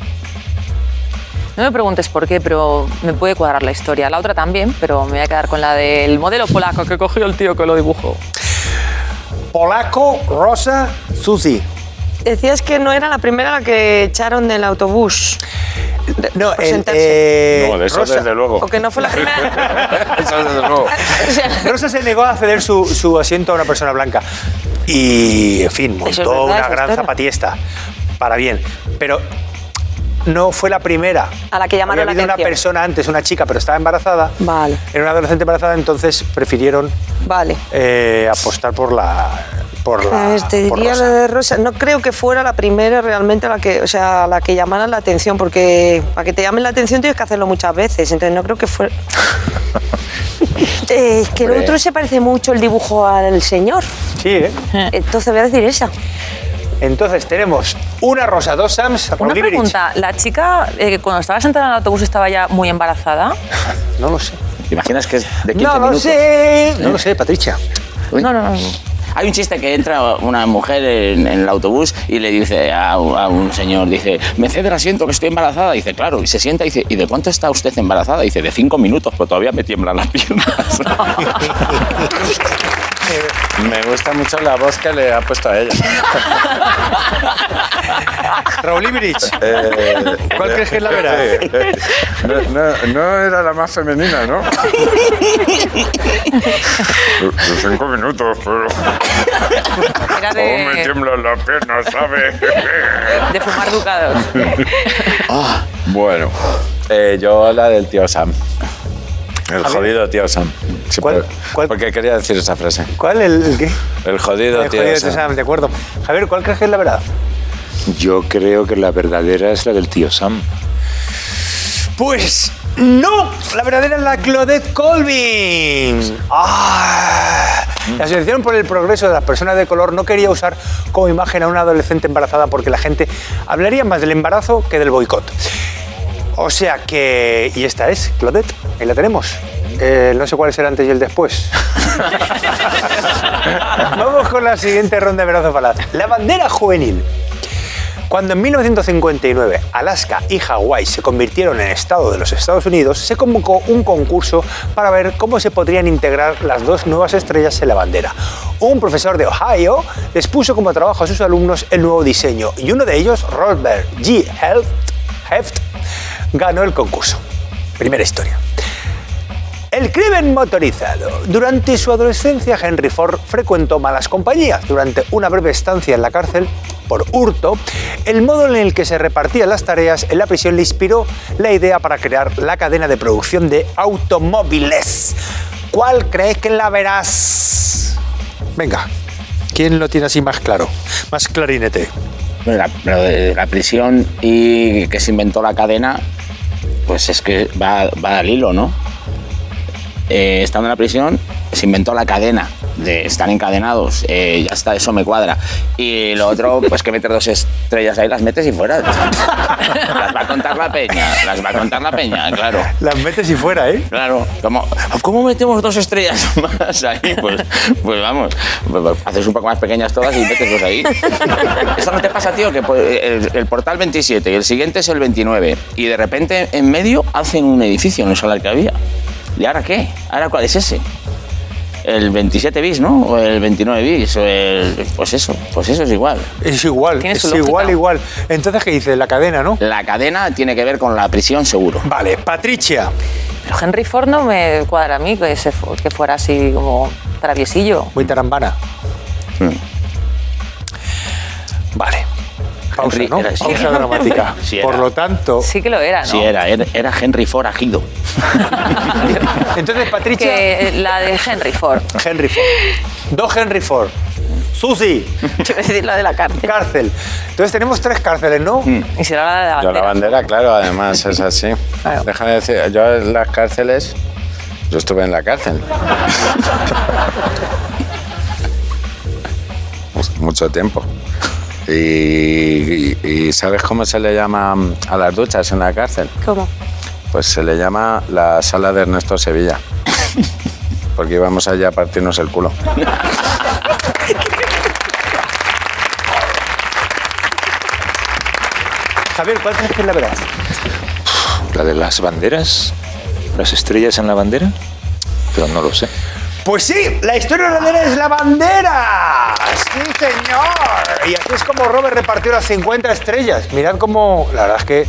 No me preguntes por qué, pero me puede cuadrar la historia. La otra también, pero me voy a quedar con la del modelo polaco que cogió el tío que lo dibujó. Polaco, Rosa, Susi. Decías que no era la primera la que echaron del autobús. No, por el, sentarse. eh, No, de eso Rosa, desde luego. O que no fue la primera. Eso desde luego. O sea, Rosa se negó a ceder su, su asiento a una persona blanca. Y, en fin, Eso es montó verdad, una esa gran historia. zapatiesta. Para bien. Pero no fue la primera. A la que llamaron Había la habido una atención. persona antes, una chica, pero estaba embarazada. Vale, Era una adolescente embarazada, entonces prefirieron vale. eh, apostar por la... Por la Pues te por diría Rosa. la de Rosa. No creo que fuera la primera realmente la que, o sea, la que llamara la atención, porque para que te llamen la atención tienes que hacerlo muchas veces. Entonces no creo que fuera. Eh, es que el Hombre. otro se parece mucho el dibujo al señor. Sí, ¿eh? Entonces voy a decir esa. Entonces tenemos una Rosa, dos Sams. Una Rodríguez. pregunta, ¿la chica eh, cuando estaba sentada en el autobús estaba ya muy embarazada? No lo sé. ¿Te imaginas que es de quince No lo minutos? sé. No lo sé, Patricia. Uy. No, no, no. Hay un chiste que entra una mujer en, en el autobús y le dice a, un- a un señor, dice, ¿me cede el asiento que estoy embarazada? Dice, claro, y se sienta y dice, ¿y de cuánto está usted embarazada? Dice, de cinco minutos, pero todavía me tiemblan las piernas. Me gusta mucho la voz que le ha puesto a ella. Raúl Ibrich. Eh, ¿Cuál crees que es la verdad? No, no- no era la más femenina, ¿no? De cinco minutos, pero... Era ¿Cómo me de, tiemblan las piernas, sabes? de fumar ducados. Bueno, eh, yo la del tío Sam. El jodido tío Sam. Sí, ¿Cuál- por- cuál? Porque quería decir esa frase. ¿Cuál? ¿El, el qué? El jodido El tío jodido Sam. Sam, de acuerdo. Javier, ¿cuál crees que es la verdad? Yo creo que la verdadera es la del tío Sam. Pues no, la verdadera es la Claudette Colvin. Ah. La Asociación por el Progreso de las Personas de Color no quería usar como imagen a una adolescente embarazada porque la gente hablaría más del embarazo que del boicot. O sea que... Y esta es, Claudette, ahí la tenemos. Eh, no sé cuál es el antes y el después. Vamos con la siguiente ronda de Verazo Falaz. La bandera juvenil. Cuando en mil novecientos cincuenta y nueve Alaska y Hawái se convirtieron en estado de los Estados Unidos, se convocó un concurso para ver cómo se podrían integrar las dos nuevas estrellas en la bandera. Un profesor de Ohio les puso como trabajo a sus alumnos el nuevo diseño y uno de ellos, Robert G. Heft, Heft, ganó el concurso. Primera historia. El crimen motorizado. Durante su adolescencia, Henry Ford frecuentó malas compañías. Durante una breve estancia en la cárcel por hurto, el modo en el que se repartían las tareas en la prisión le inspiró la idea para crear la cadena de producción de automóviles. ¿Cuál crees que la verás? Venga, ¿quién lo tiene así más claro? Más clarinete. Bueno, la, lo de la prisión y que se inventó la cadena, pues es que va, va al hilo, ¿no? Eh, estando en la prisión, se inventó la cadena de estar encadenados, eh, ya está, eso me cuadra. Y lo otro, pues que meter dos estrellas ahí, las metes y fuera. Las va a contar la peña, las va a contar la peña, claro. Las metes y fuera, ¿eh? Claro, ¿cómo, ¿cómo metemos dos estrellas más ahí? Pues, pues vamos, pues haces un poco más pequeñas todas y metes dos ahí. Eso no te pasa, tío, que pues, el, el portal veintisiete y el siguiente es el veintinueve y de repente en medio hacen un edificio en el solar que había. ¿Y ahora qué? ¿Ahora cuál es ese? El veintisiete bis, ¿no? O el veintinueve bis, o el... Pues eso, pues eso es igual. Es igual, Tiene es su lógica. igual, igual. Entonces, ¿qué dice? La cadena, ¿no? La cadena tiene que ver con la prisión, seguro. Vale, Patricia. Pero Henry Ford no me cuadra a mí que, se fu- que fuera así como traviesillo. Muy tarambana. Mm. Vale. Pausa, Henry ¿no? era así. Pausa dramática. Sí era. Por lo tanto... Sí que lo era, ¿no? Sí, era, era, era Henry Ford agido. Entonces, Patricia... Que la de Henry Ford. Henry Ford. Dos Henry Ford. Susi, Te voy a decir la de la cárcel. cárcel. Entonces tenemos tres cárceles, ¿no? Y será la de la Yo la bandera. bandera, claro, además es así. Claro. Déjame decir, yo en las cárceles, yo estuve en la cárcel. Pues mucho tiempo. Y, y- y ¿sabes cómo se le llama a las duchas en la cárcel? ¿Cómo? Pues se le llama la sala de Ernesto Sevilla. Porque íbamos allá a partirnos el culo. Javier, ¿cuál crees que es la verdad? ¿La de las banderas? ¿Las estrellas en la bandera? Pero no lo sé. Pues sí, la historia verdadera es la bandera. Sí, señor. Y así es como Robert repartió las cincuenta estrellas. Mirad cómo, la verdad es que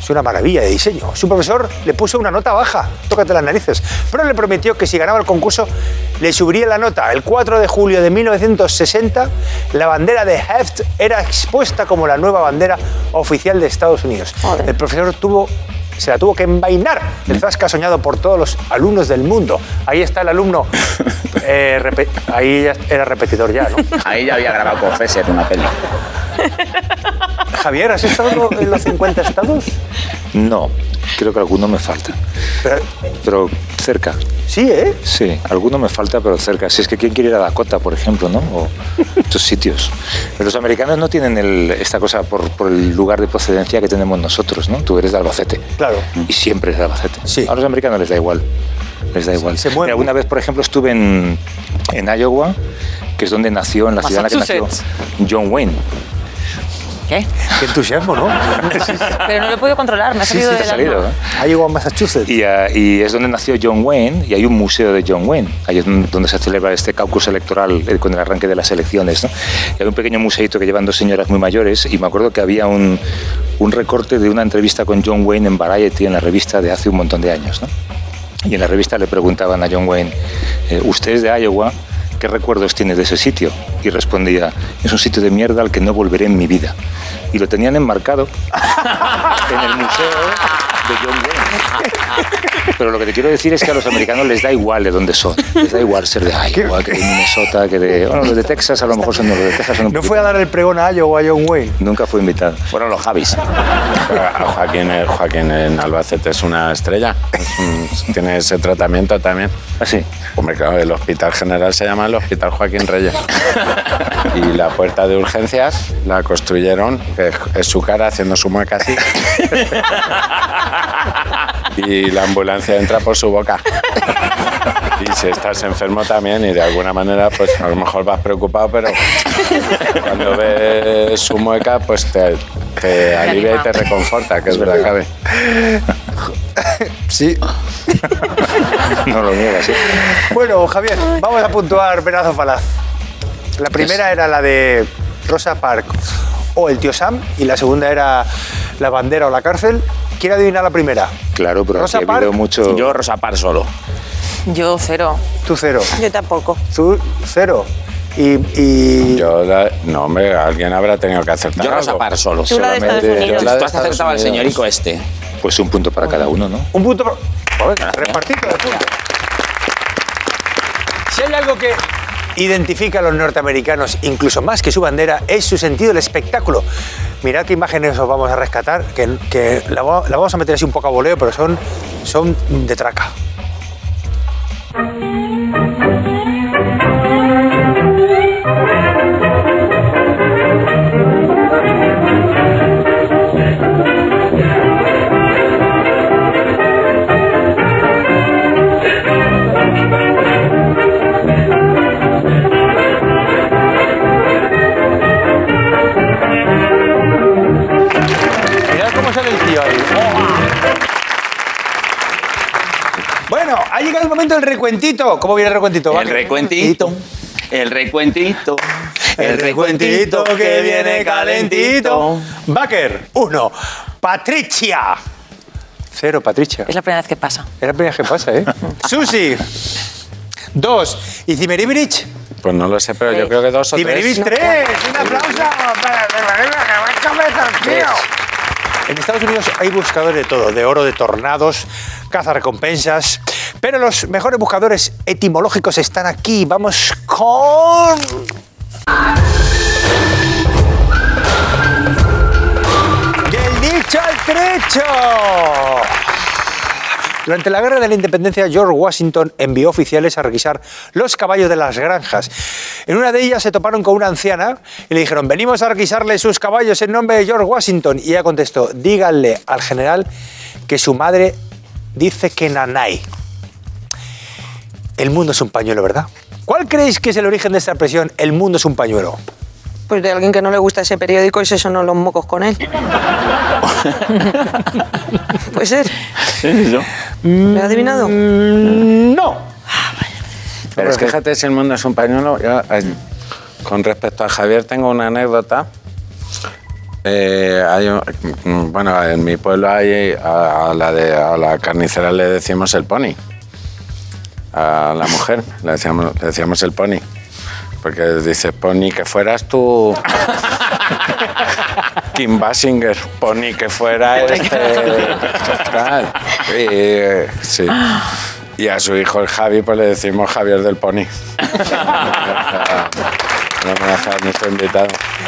Es una maravilla de diseño. Su profesor le puso una nota baja, tócate las narices, pero le prometió que si ganaba el concurso le subiría la nota. El cuatro de julio de mil novecientos sesenta, la bandera de Heft era expuesta como la nueva bandera oficial de Estados Unidos. Joder. El profesor tuvo, se la tuvo que envainar del zasca soñado por todos los alumnos del mundo. Ahí está el alumno. Eh, repe- ahí ya era repetidor ya, ¿no? Ahí ya había grabado con Fesser una peli. Javier, ¿has estado en los cincuenta estados? No, creo que alguno me falta. Pero, Pero cerca. sí, ¿eh? Sí, alguno me falta, pero cerca. Si es que quién quiere ir a Dakota, por ejemplo, ¿no? O estos sitios. Pero los americanos no tienen el- esta cosa por, por el lugar de procedencia que tenemos nosotros, ¿no? Tú eres de Albacete. Claro. Y siempre es de Albacete. Sí. A los americanos les da igual. Les da igual. Se mueven. Mira, alguna vez, por ejemplo, estuve en, en Iowa, que es donde nació, en la ciudad en la que nació John Wayne. ¿Qué? Qué entusiasmo, ¿no? Pero no lo he podido controlar, me ha Sí, salido sí, del te ha salido, alma. ¿eh? Ha llegado a Massachusetts. Y, uh, y es donde nació John Wayne y hay un museo de John Wayne. Ahí es donde se celebra este caucus electoral eh, con el arranque de las elecciones, ¿no? Y hay un pequeño museito que llevan dos señoras muy mayores y me acuerdo que había un, un recorte de una entrevista con John Wayne en Variety, en la revista de hace un montón de años, ¿no? Y en la revista le preguntaban a John Wayne, eh, ¿usted es de Iowa? ¿Qué recuerdos tiene de ese sitio? Y respondía, es un sitio de mierda al que no volveré en mi vida. Y lo tenían enmarcado en el museo de John Wayne. Pero lo que te quiero decir es que a los americanos les da igual de dónde son. Les da igual ser de Iowa, que de Minnesota, que de... Bueno, los de Texas a lo mejor son los de Texas. Son un ¿No poquito- fue a dar el pregón a Iowa a John Wayne? Nunca fue invitado. Fueron los Javis. A Joaquín, eh, Joaquín en Albacete es una estrella. Es un- tiene ese tratamiento también. Así. Hombre, claro, el Hospital General se llama el Hospital Joaquín Reyes. Y la puerta de urgencias la construyeron, que es- es su cara haciendo su mueca así. Y la ambulancia entra por su boca. Y si estás enfermo también y de alguna manera, pues a lo mejor vas preocupado, pero cuando ves su mueca, pues te, te alivia y te reconforta, que es verdad, cabe. Sí. No lo niegas, ¿sí? Bueno, Javier, vamos a puntuar venazo falaz. La primera era la de Rosa Parks o el tío Sam y la segunda era la bandera o la cárcel. ¿Quiere adivinar la primera? Claro, pero Rosa aquí ha habido Parks, mucho... Yo, Rosa Par solo. Yo cero. Tú cero. Yo tampoco. Tú cero. Y, y... Yo, la- no, hombre, alguien habrá tenido que acertar. Yo, Rosa algo. Par solo. Tú la de Estados Solamente- Unidos. yo la de Tú has acertado al Estados Unidos. señorico este. Pues un punto para cada uno, ¿no? Un punto... Joder, repartido de puntos. Si hay algo que identifica a los norteamericanos, incluso más que su bandera, es su sentido del espectáculo. Mirad qué imágenes os vamos a rescatar, que, que la, va- la vamos a meter así un poco a voleo, pero son, son de traca. Mirad cómo sale el tío ahí. Bueno, ha llegado el momento del recuentito. ¿Cómo viene el recuentito? El Vale. recuentito. El recuentito. El recuentito que viene calentito. Baker, uno. Patricia. Cero, Patricia. Es la primera vez que pasa. Es la primera vez que pasa, ¿eh? Susi. Dos. ¿Y Zimmeribirich? Pues no lo sé, pero yo creo que dos o Zimmeribirich, tres. tres. Un aplauso para Zimmeribirich, que va a comenzar, tío. En Estados Unidos hay buscadores de todo, de oro, de tornados, cazarrecompensas, pero los mejores buscadores etimológicos están aquí. Vamos con... ¡Del dicho al trecho! Durante la Guerra de la Independencia, George Washington envió oficiales a requisar los caballos de las granjas. En una de ellas se toparon con una anciana y le dijeron, venimos a requisarle sus caballos en nombre de George Washington. Y ella contestó, díganle al general que su madre dice que nanay. El mundo es un pañuelo, ¿verdad? ¿Cuál creéis que es el origen de esta expresión, el mundo es un pañuelo? Pues de alguien que no le gusta ese periódico y se sonó los mocos con él. Puede ser. ¿Me has adivinado? Mm, no. Pero es que fíjate si el mundo es un pañuelo. Yo, eh, con respecto a Javier, tengo una anécdota. Eh, hay un- bueno, en mi pueblo hay a, a la de a la carnicera le decimos el pony. A la mujer le decíamos, le decíamos el pony. Porque dice, pony, que fueras tú Kim Basinger, pony, que fuera este... tal. Y, sí. Y a su hijo, el Javi, pues le decimos Javier del Pony. No me deja nuestro invitado.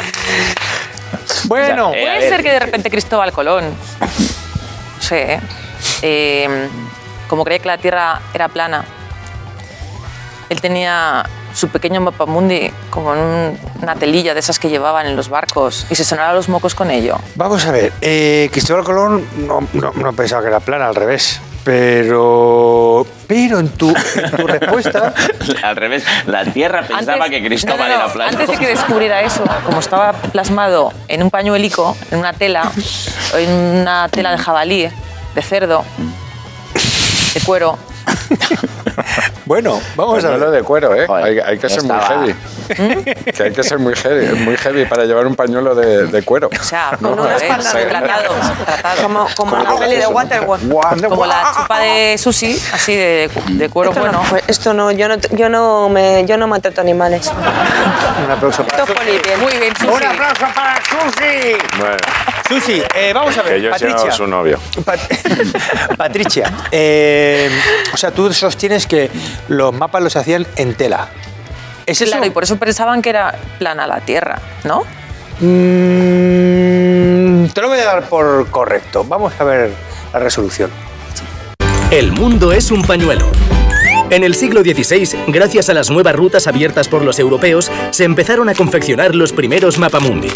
Bueno, Ya, eh, a Puede ver. ser que de repente Cristóbal Colón, no sé, eh, como creía que la Tierra era plana, él tenía su pequeño mapamundi como en un- una telilla de esas que llevaban en los barcos y se sonaba los mocos con ello. vamos a ver. Eh, Cristóbal Colón no, no, no pensaba que era plana, al revés. Pero, pero en tu, en tu respuesta... Al revés, la Tierra pensaba que Cristóbal no, no, no, era plano. Antes de que descubriera eso, como estaba plasmado en un pañuelico, en una tela, en una tela de jabalí, de cerdo, de cuero. Bueno, vamos a Pañuelo ver. de cuero, ¿eh? Joder, hay, hay que ya ser muy estaba. heavy. Que hay que ser muy heavy, muy heavy para llevar un pañuelo de, de cuero. O sea, Con una eh, espalda de tratado, tratado. Como, como la peli de Waterworld. Como la chupa de sushi, así de, de cuero Esto bueno. no, fue- esto no, yo no, yo no me, yo no maltrato animales. Un aplauso para Esto es Susi. bien. Muy bien, sushi. Un aplauso para Susi. Bueno, Susi, eh, vamos a ver. que yo he sido Patricia. su novio. Pat- Patricia, eh, o sea, tú sostienes que los mapas los hacían en tela. ¿Es eso? Claro, y por eso pensaban que era plana la Tierra, ¿no? Mm, te lo voy a dar por correcto. Vamos a ver la resolución. El mundo es un pañuelo. En el siglo dieciséis, gracias a las nuevas rutas abiertas por los europeos, se empezaron a confeccionar los primeros mapamundi.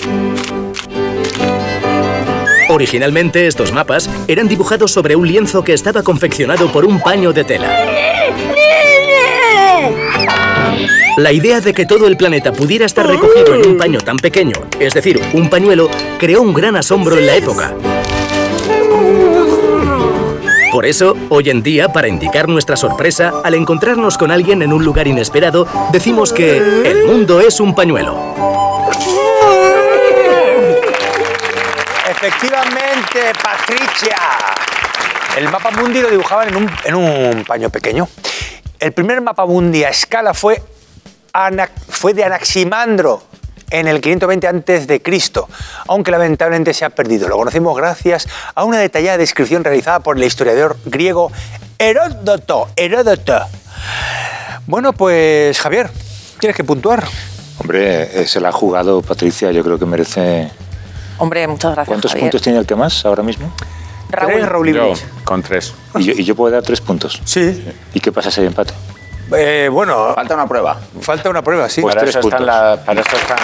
Originalmente, estos mapas eran dibujados sobre un lienzo que estaba confeccionado por un paño de tela. La idea de que todo el planeta pudiera estar recogido en un paño tan pequeño, es decir, un pañuelo, creó un gran asombro en la época. Por eso, hoy en día, para indicar nuestra sorpresa, al encontrarnos con alguien en un lugar inesperado, decimos que el mundo es un pañuelo. Efectivamente, Patricia. El mapa mundi lo dibujaban en un, en un paño pequeño. El primer mapa mundi a escala fue, Ana- fue de Anaximandro en el quinientos veinte antes de Cristo, aunque lamentablemente se ha perdido. Lo conocimos gracias a una detallada descripción realizada por el historiador griego Heródoto. Heródoto. Bueno, pues Javier, tienes que puntuar. Hombre, eh, se la ha jugado Patricia, yo creo que merece... Hombre, muchas gracias, ¿Cuántos Javier. puntos tiene el que más ahora mismo? Raúl. Tres, Raúl Yo, Iblich. con tres. Y yo, y yo puedo dar tres puntos. Sí. ¿Y qué pasa si hay empate? Eh, bueno, Falta una prueba. falta una prueba, sí. Pues Para tres eso, están puntos. la- para, eso están,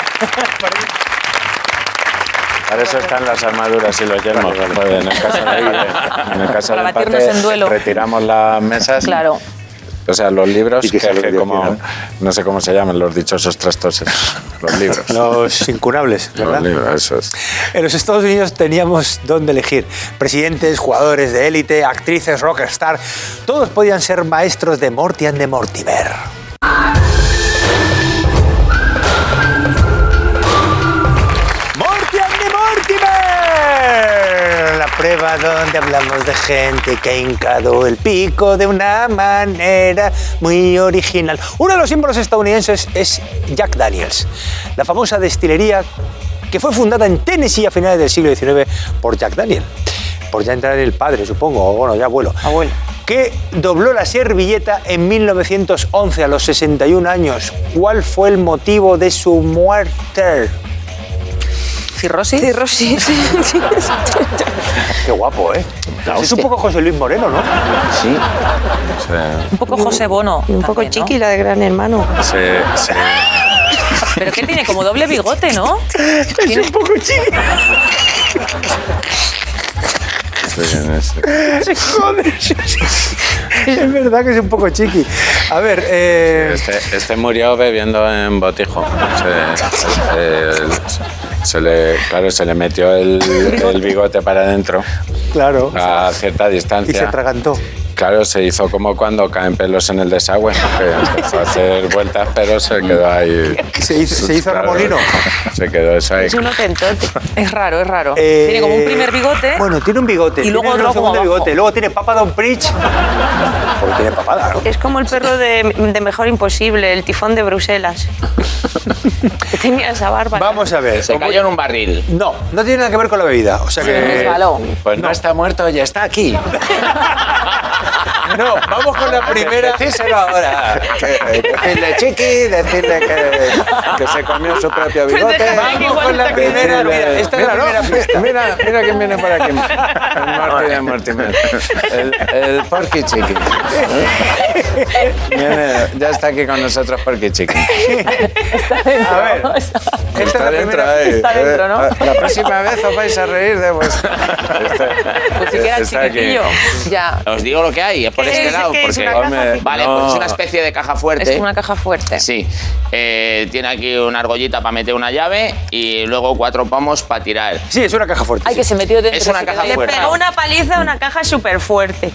para eso están las armaduras y los yelmos. Vale, vale. Pues en el caso, de, en el caso Para del batirnos empate, en duelo. retiramos las mesas. Claro. O sea, los libros, Y que que, se lo que diga, como, ¿no? no sé cómo se llaman, los dichosos trastoses. Los libros. Los incunables, ¿verdad? Los libros, eso es. En los Estados Unidos teníamos dónde elegir. Presidentes, jugadores de élite, actrices, rockstar. Todos podían ser maestros de Morty and de Mortimer. ¡Morty and de Mortimer! La prueba donde hablamos de gente que ha hincado el pico de una manera muy original. Uno de los símbolos estadounidenses es Jack Daniels, la famosa destilería que fue fundada en Tennessee a finales del siglo diecinueve por Jack Daniel. Por ya entrar el padre, supongo, o bueno, ya abuelo. Abuelo. Que dobló la servilleta en mil novecientos once a los sesenta y un años. ¿Cuál fue el motivo de su muerte? ¿Cirrosis? Cirrosis. Sí, sí. Qué guapo, ¿eh? Es un poco José Luis Moreno, ¿no? Sí. Un poco José Bono. Un poco también, ¿no? chiqui la de Gran Hermano. Se, se, Pero que tiene como doble bigote, ¿no? Tiene- Un poco chiqui. se- se- Se jode. Es verdad que es un poco chiqui. A ver, eh... Este, este murió bebiendo en botijo. Se, se- se le, claro, se le metió el, el bigote para adentro claro. a cierta Y se distancia. atragantó. Claro, se hizo como cuando caen pelos en el desagüe, que empezó a hacer vueltas, pero se quedó ahí. Se hizo, se hizo Claro, remolino. Se quedó eso ahí. Es un otentote. Es raro, es raro. Eh, Tiene como un primer bigote. Bueno, tiene un bigote. Y luego tiene otro un segundo como abajo. bigote. Luego tiene Papa Don Preach. Porque tiene papada, ¿no? Es como el perro de, de Mejor Imposible, el tifón de Bruselas. Que tenía esa barba. Vamos a ver. Se cayó en un barril. No, no tiene nada que ver con la bebida. O sea que. Resbaló. Pues no, está muerto, ya está aquí. No, vamos con la primera. Decíselo ahora. Decirle chiqui, decirle que, que se comió su propio bigote. déjame que Vamos con la igual primera. Mira, esta es la primera pista. Mira, mira quién viene por aquí. El Marty de Mortimer. El, el Porky Chicken. Viene, ya está aquí con nosotros Porky Chicken. A ver. Está- Esta es Está la dentro primera. ahí. Está dentro, ¿no? Eh, La próxima vez os vais a reír de vuestro. Pues si quieras Está aquí. chiquitillo. Ya. Os digo lo que hay, es por ¿Qué este es? lado. ¿Qué es? Porque, ¿Una caja Hombre, vale, no. pues es una especie de caja fuerte. Es una caja fuerte. Sí. Eh, tiene aquí una argollita para meter una llave y luego cuatro pomos para tirar. Sí, es una caja fuerte. Ay, sí. que se metió dentro. Es una se caja quedó Le fuerte. pegó una paliza a una caja súper fuerte.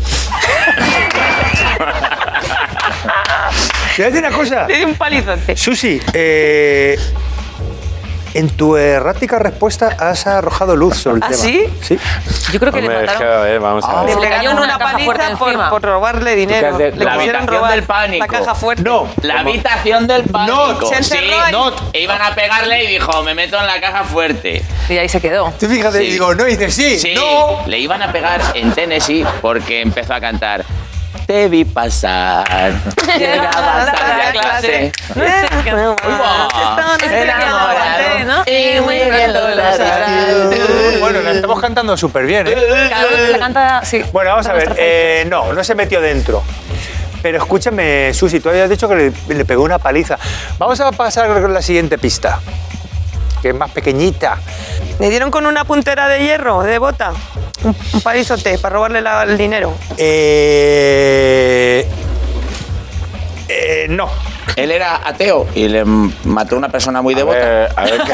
Te voy a decir una cosa. Le dio un palizote. Susi, eh, en tu errática respuesta has arrojado luz sobre el ¿Ah, tema. sí? Sí. Yo creo que le Hombre, es que, mataron. a ver, vamos a Ah, ver. Le le pegaron cayó una una caja fuerte paliza por, encima. por robarle dinero. Porque es de- Le la quisieron habitación robar del pánico. la caja fuerte. No. La habitación del pánico. Not. Se encerró sí, ahí. Not. E iban a pegarle y dijo, me meto en la caja fuerte. Y ahí se quedó. Tú fíjate, Sí. y digo, no, y dices sí, Sí, no. le iban a pegar en Tennessee porque empezó a cantar. Te vi pasar, llegabas tarde a clase. No sé qué. Uva. Enamorado, ¿no? Y muy bien lo Bueno, la estamos cantando súper bien, ¿eh? Cada uno la canta, sí. Bueno, vamos a ver. eh, no, no se metió dentro. Pero escúchame, Susi, tú habías dicho que le, le pegó una paliza. Vamos a pasar con la siguiente pista, que es más pequeñita. Le dieron con una puntera de hierro, de bota. Un, un palizote para robarle la- el dinero. Eh, eh, no. Él era ateo y le mató a una persona muy A devota. ver, a ver qué,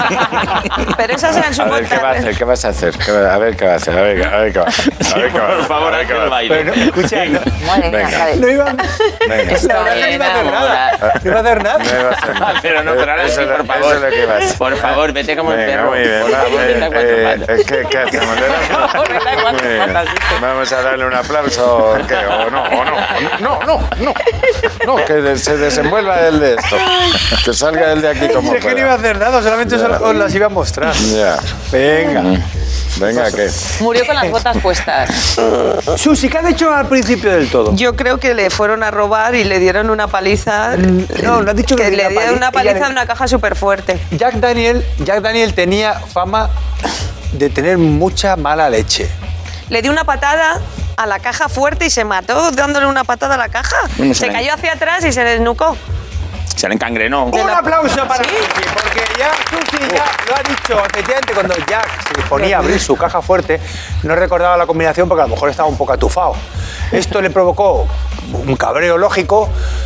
Pero esas eran su a ver qué va a hacer, qué vas a hacer, qué va- a ver qué va a hacer, a ver, a ver qué va a hacer. A ver qué va a hacer, Por favor, a ver haz qué va a el hacer. Pero no, escucha, no, Madre mía, Venga. Javi. no iba, Venga. la verdad que no iba a hacer nada. No iba a hacer nada. No iba a hacer nada. Pero no, pero ahora Eso sí, es lo- por eso favor. es lo que iba a hacer. Por favor, vete como el Venga, perro. muy bien. Por favor, va, vete a cuatro eh, patas. eh, ¿qué, ¿Qué hacemos? ¿Le damos un- Vete a cuatro Muy bien. patas, dice. Vamos a darle un aplauso o qué, o no, o no, o no, no, no, no, que se desenvuelva el de esto, que salga el de aquí como Si es que no iba a hacer nada, solamente os, os las iba a mostrar. Ya, Venga. venga, ¿qué? Murió con las botas puestas. Susi, ¿qué has dicho al principio del todo? Yo creo que le fueron a robar y le dieron una paliza. No, no has dicho que, Que le le dieron dieron una pali- ella paliza le- en una caja súper fuerte. Jack Daniel, Jack Daniel tenía fama de tener mucha mala leche. Le dio una patada a la caja fuerte y se mató dándole una patada a la caja. No Se sé. cayó hacia atrás y se desnucó. Se le encangrenó. Un aplauso para Susi, porque ya Susi ya lo ha dicho. Efectivamente, cuando Jack se disponía a abrir su caja fuerte, no recordaba la combinación porque a lo mejor estaba un poco atufado. Esto le provocó un cabreo lógico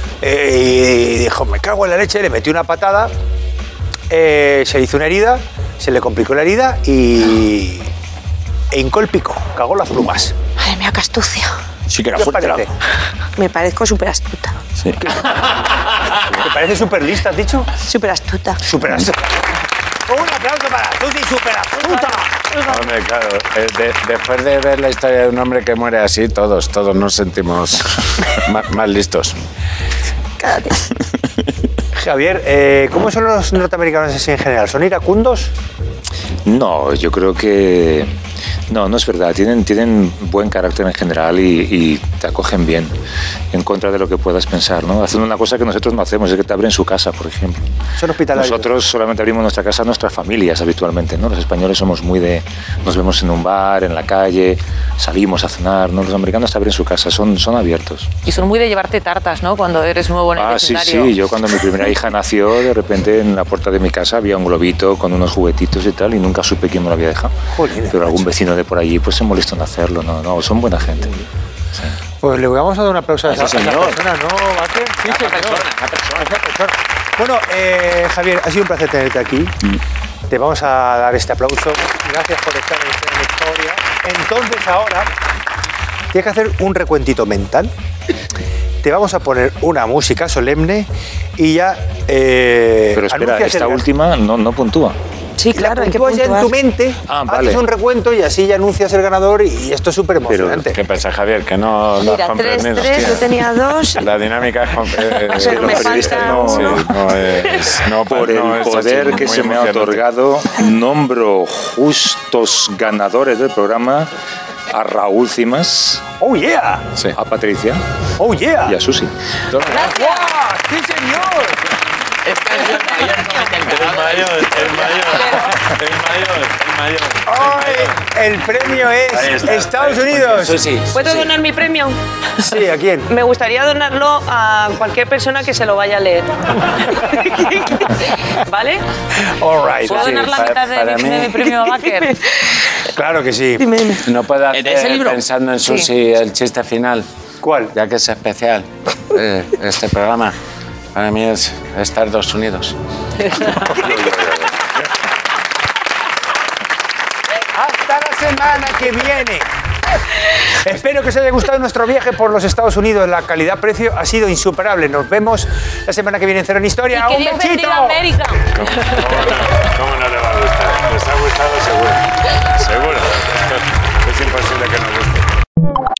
eh, y dijo, me cago en la leche, le metió una patada, eh, se hizo una herida, se le complicó la herida y... e hincó el pico, cagó las plumas. Madre mía, qué astucia. Sí que era ¿Qué os fuerte. parece? Me parezco súper astuta. Sí. ¿Te parece súper lista, has dicho? Súper astuta. Súper astuta. Un aplauso para Susi, súper astuta. Hombre, claro, eh, de- después de ver la historia de un hombre que muere así, todos, todos nos sentimos más, más listos. Cállate. Javier, eh, ¿cómo son los norteamericanos así en general? ¿Son iracundos? No, yo creo que... No, no es verdad. Tienen, tienen buen carácter en general y, y te acogen bien, en contra de lo que puedas pensar, ¿no? Hacen una cosa que nosotros no hacemos, es que te abren su casa, por ejemplo. Son hospitalarios. Nosotros solamente abrimos nuestra casa a nuestras familias habitualmente, ¿no? Los españoles somos muy de... Nos vemos en un bar, en la calle, salimos a cenar, ¿no? Los americanos te abren su casa, son, son abiertos. Y son muy de llevarte tartas, ¿no? Cuando eres nuevo en el Ah, sí, vecindario. sí. Yo cuando mi primera hija nació, de repente en la puerta de mi casa había un globito con unos juguetitos y tal, y nunca supe quién me lo había dejado. Jolines, Pero algún macho. vecino de por allí pues se molestó en hacerlo. No, no, son buena gente. Pues le vamos a dar un aplauso a esa, Sí, a esa señor. persona, ¿no, Vázquez? Sí, Esa señor. persona, esa persona. Esa persona. Bueno, eh, Javier, ha sido un placer tenerte aquí. Te vamos a dar este aplauso. Gracias por estar en esta historia. Entonces ahora Tienes que hacer un recuentito mental. Te vamos a poner una música solemne y ya... Eh, Pero espera, anuncias esta el- última no, no puntúa. Sí, claro, hay que Puntúas ya en puntuar. tu mente, Ah, haces vale. un recuento y así ya anuncias el ganador y esto es súper emocionante. ¿Qué pasa, Javier? Que no lo has Mira, tres, comprendido. tres, hostia. yo tenía dos. La dinámica es... con- eh, Pero los me periodistas falta no, sí, uno. no es... No, Por no el es así, poder que muy se me ha emocionante. otorgado, nombro justos ganadores del programa a Raúl Cimas, ¡Oh, yeah! Sí. a Patricia ¡Oh, yeah! y a Susi. ¡Guau! ¡Sí, señor! Es que es el mayor comete El encargado. mayor, el mayor, el mayor, el mayor. Hoy el premio Ahí es está. Estados Unidos. Eso sí. ¿Puedo donar mi premio? Sí, ¿a quién? Me gustaría donarlo a cualquier persona que se lo vaya a leer. ¿Vale? All right. ¿Puedo sí, donar la para- mitad de, para mi, mí- de mi premio a Baker? Claro que sí. Dime, dime. No puedo ¿De ese hacer, libro? pensando en Susi, el chiste final, ¿Cuál? ya que es especial, eh, este programa. Para mí es Estados Unidos. Hasta la semana que viene. Espero que os haya gustado nuestro viaje por los Estados Unidos. La calidad-precio ha sido insuperable. Nos vemos la semana que viene en Cero en Historia. Y que ¡Un Dios bechito! bendiga a América. ¿Cómo, cómo no, cómo no le va a gustar? ¿Les ha gustado? Seguro. Seguro. Es imposible que no guste.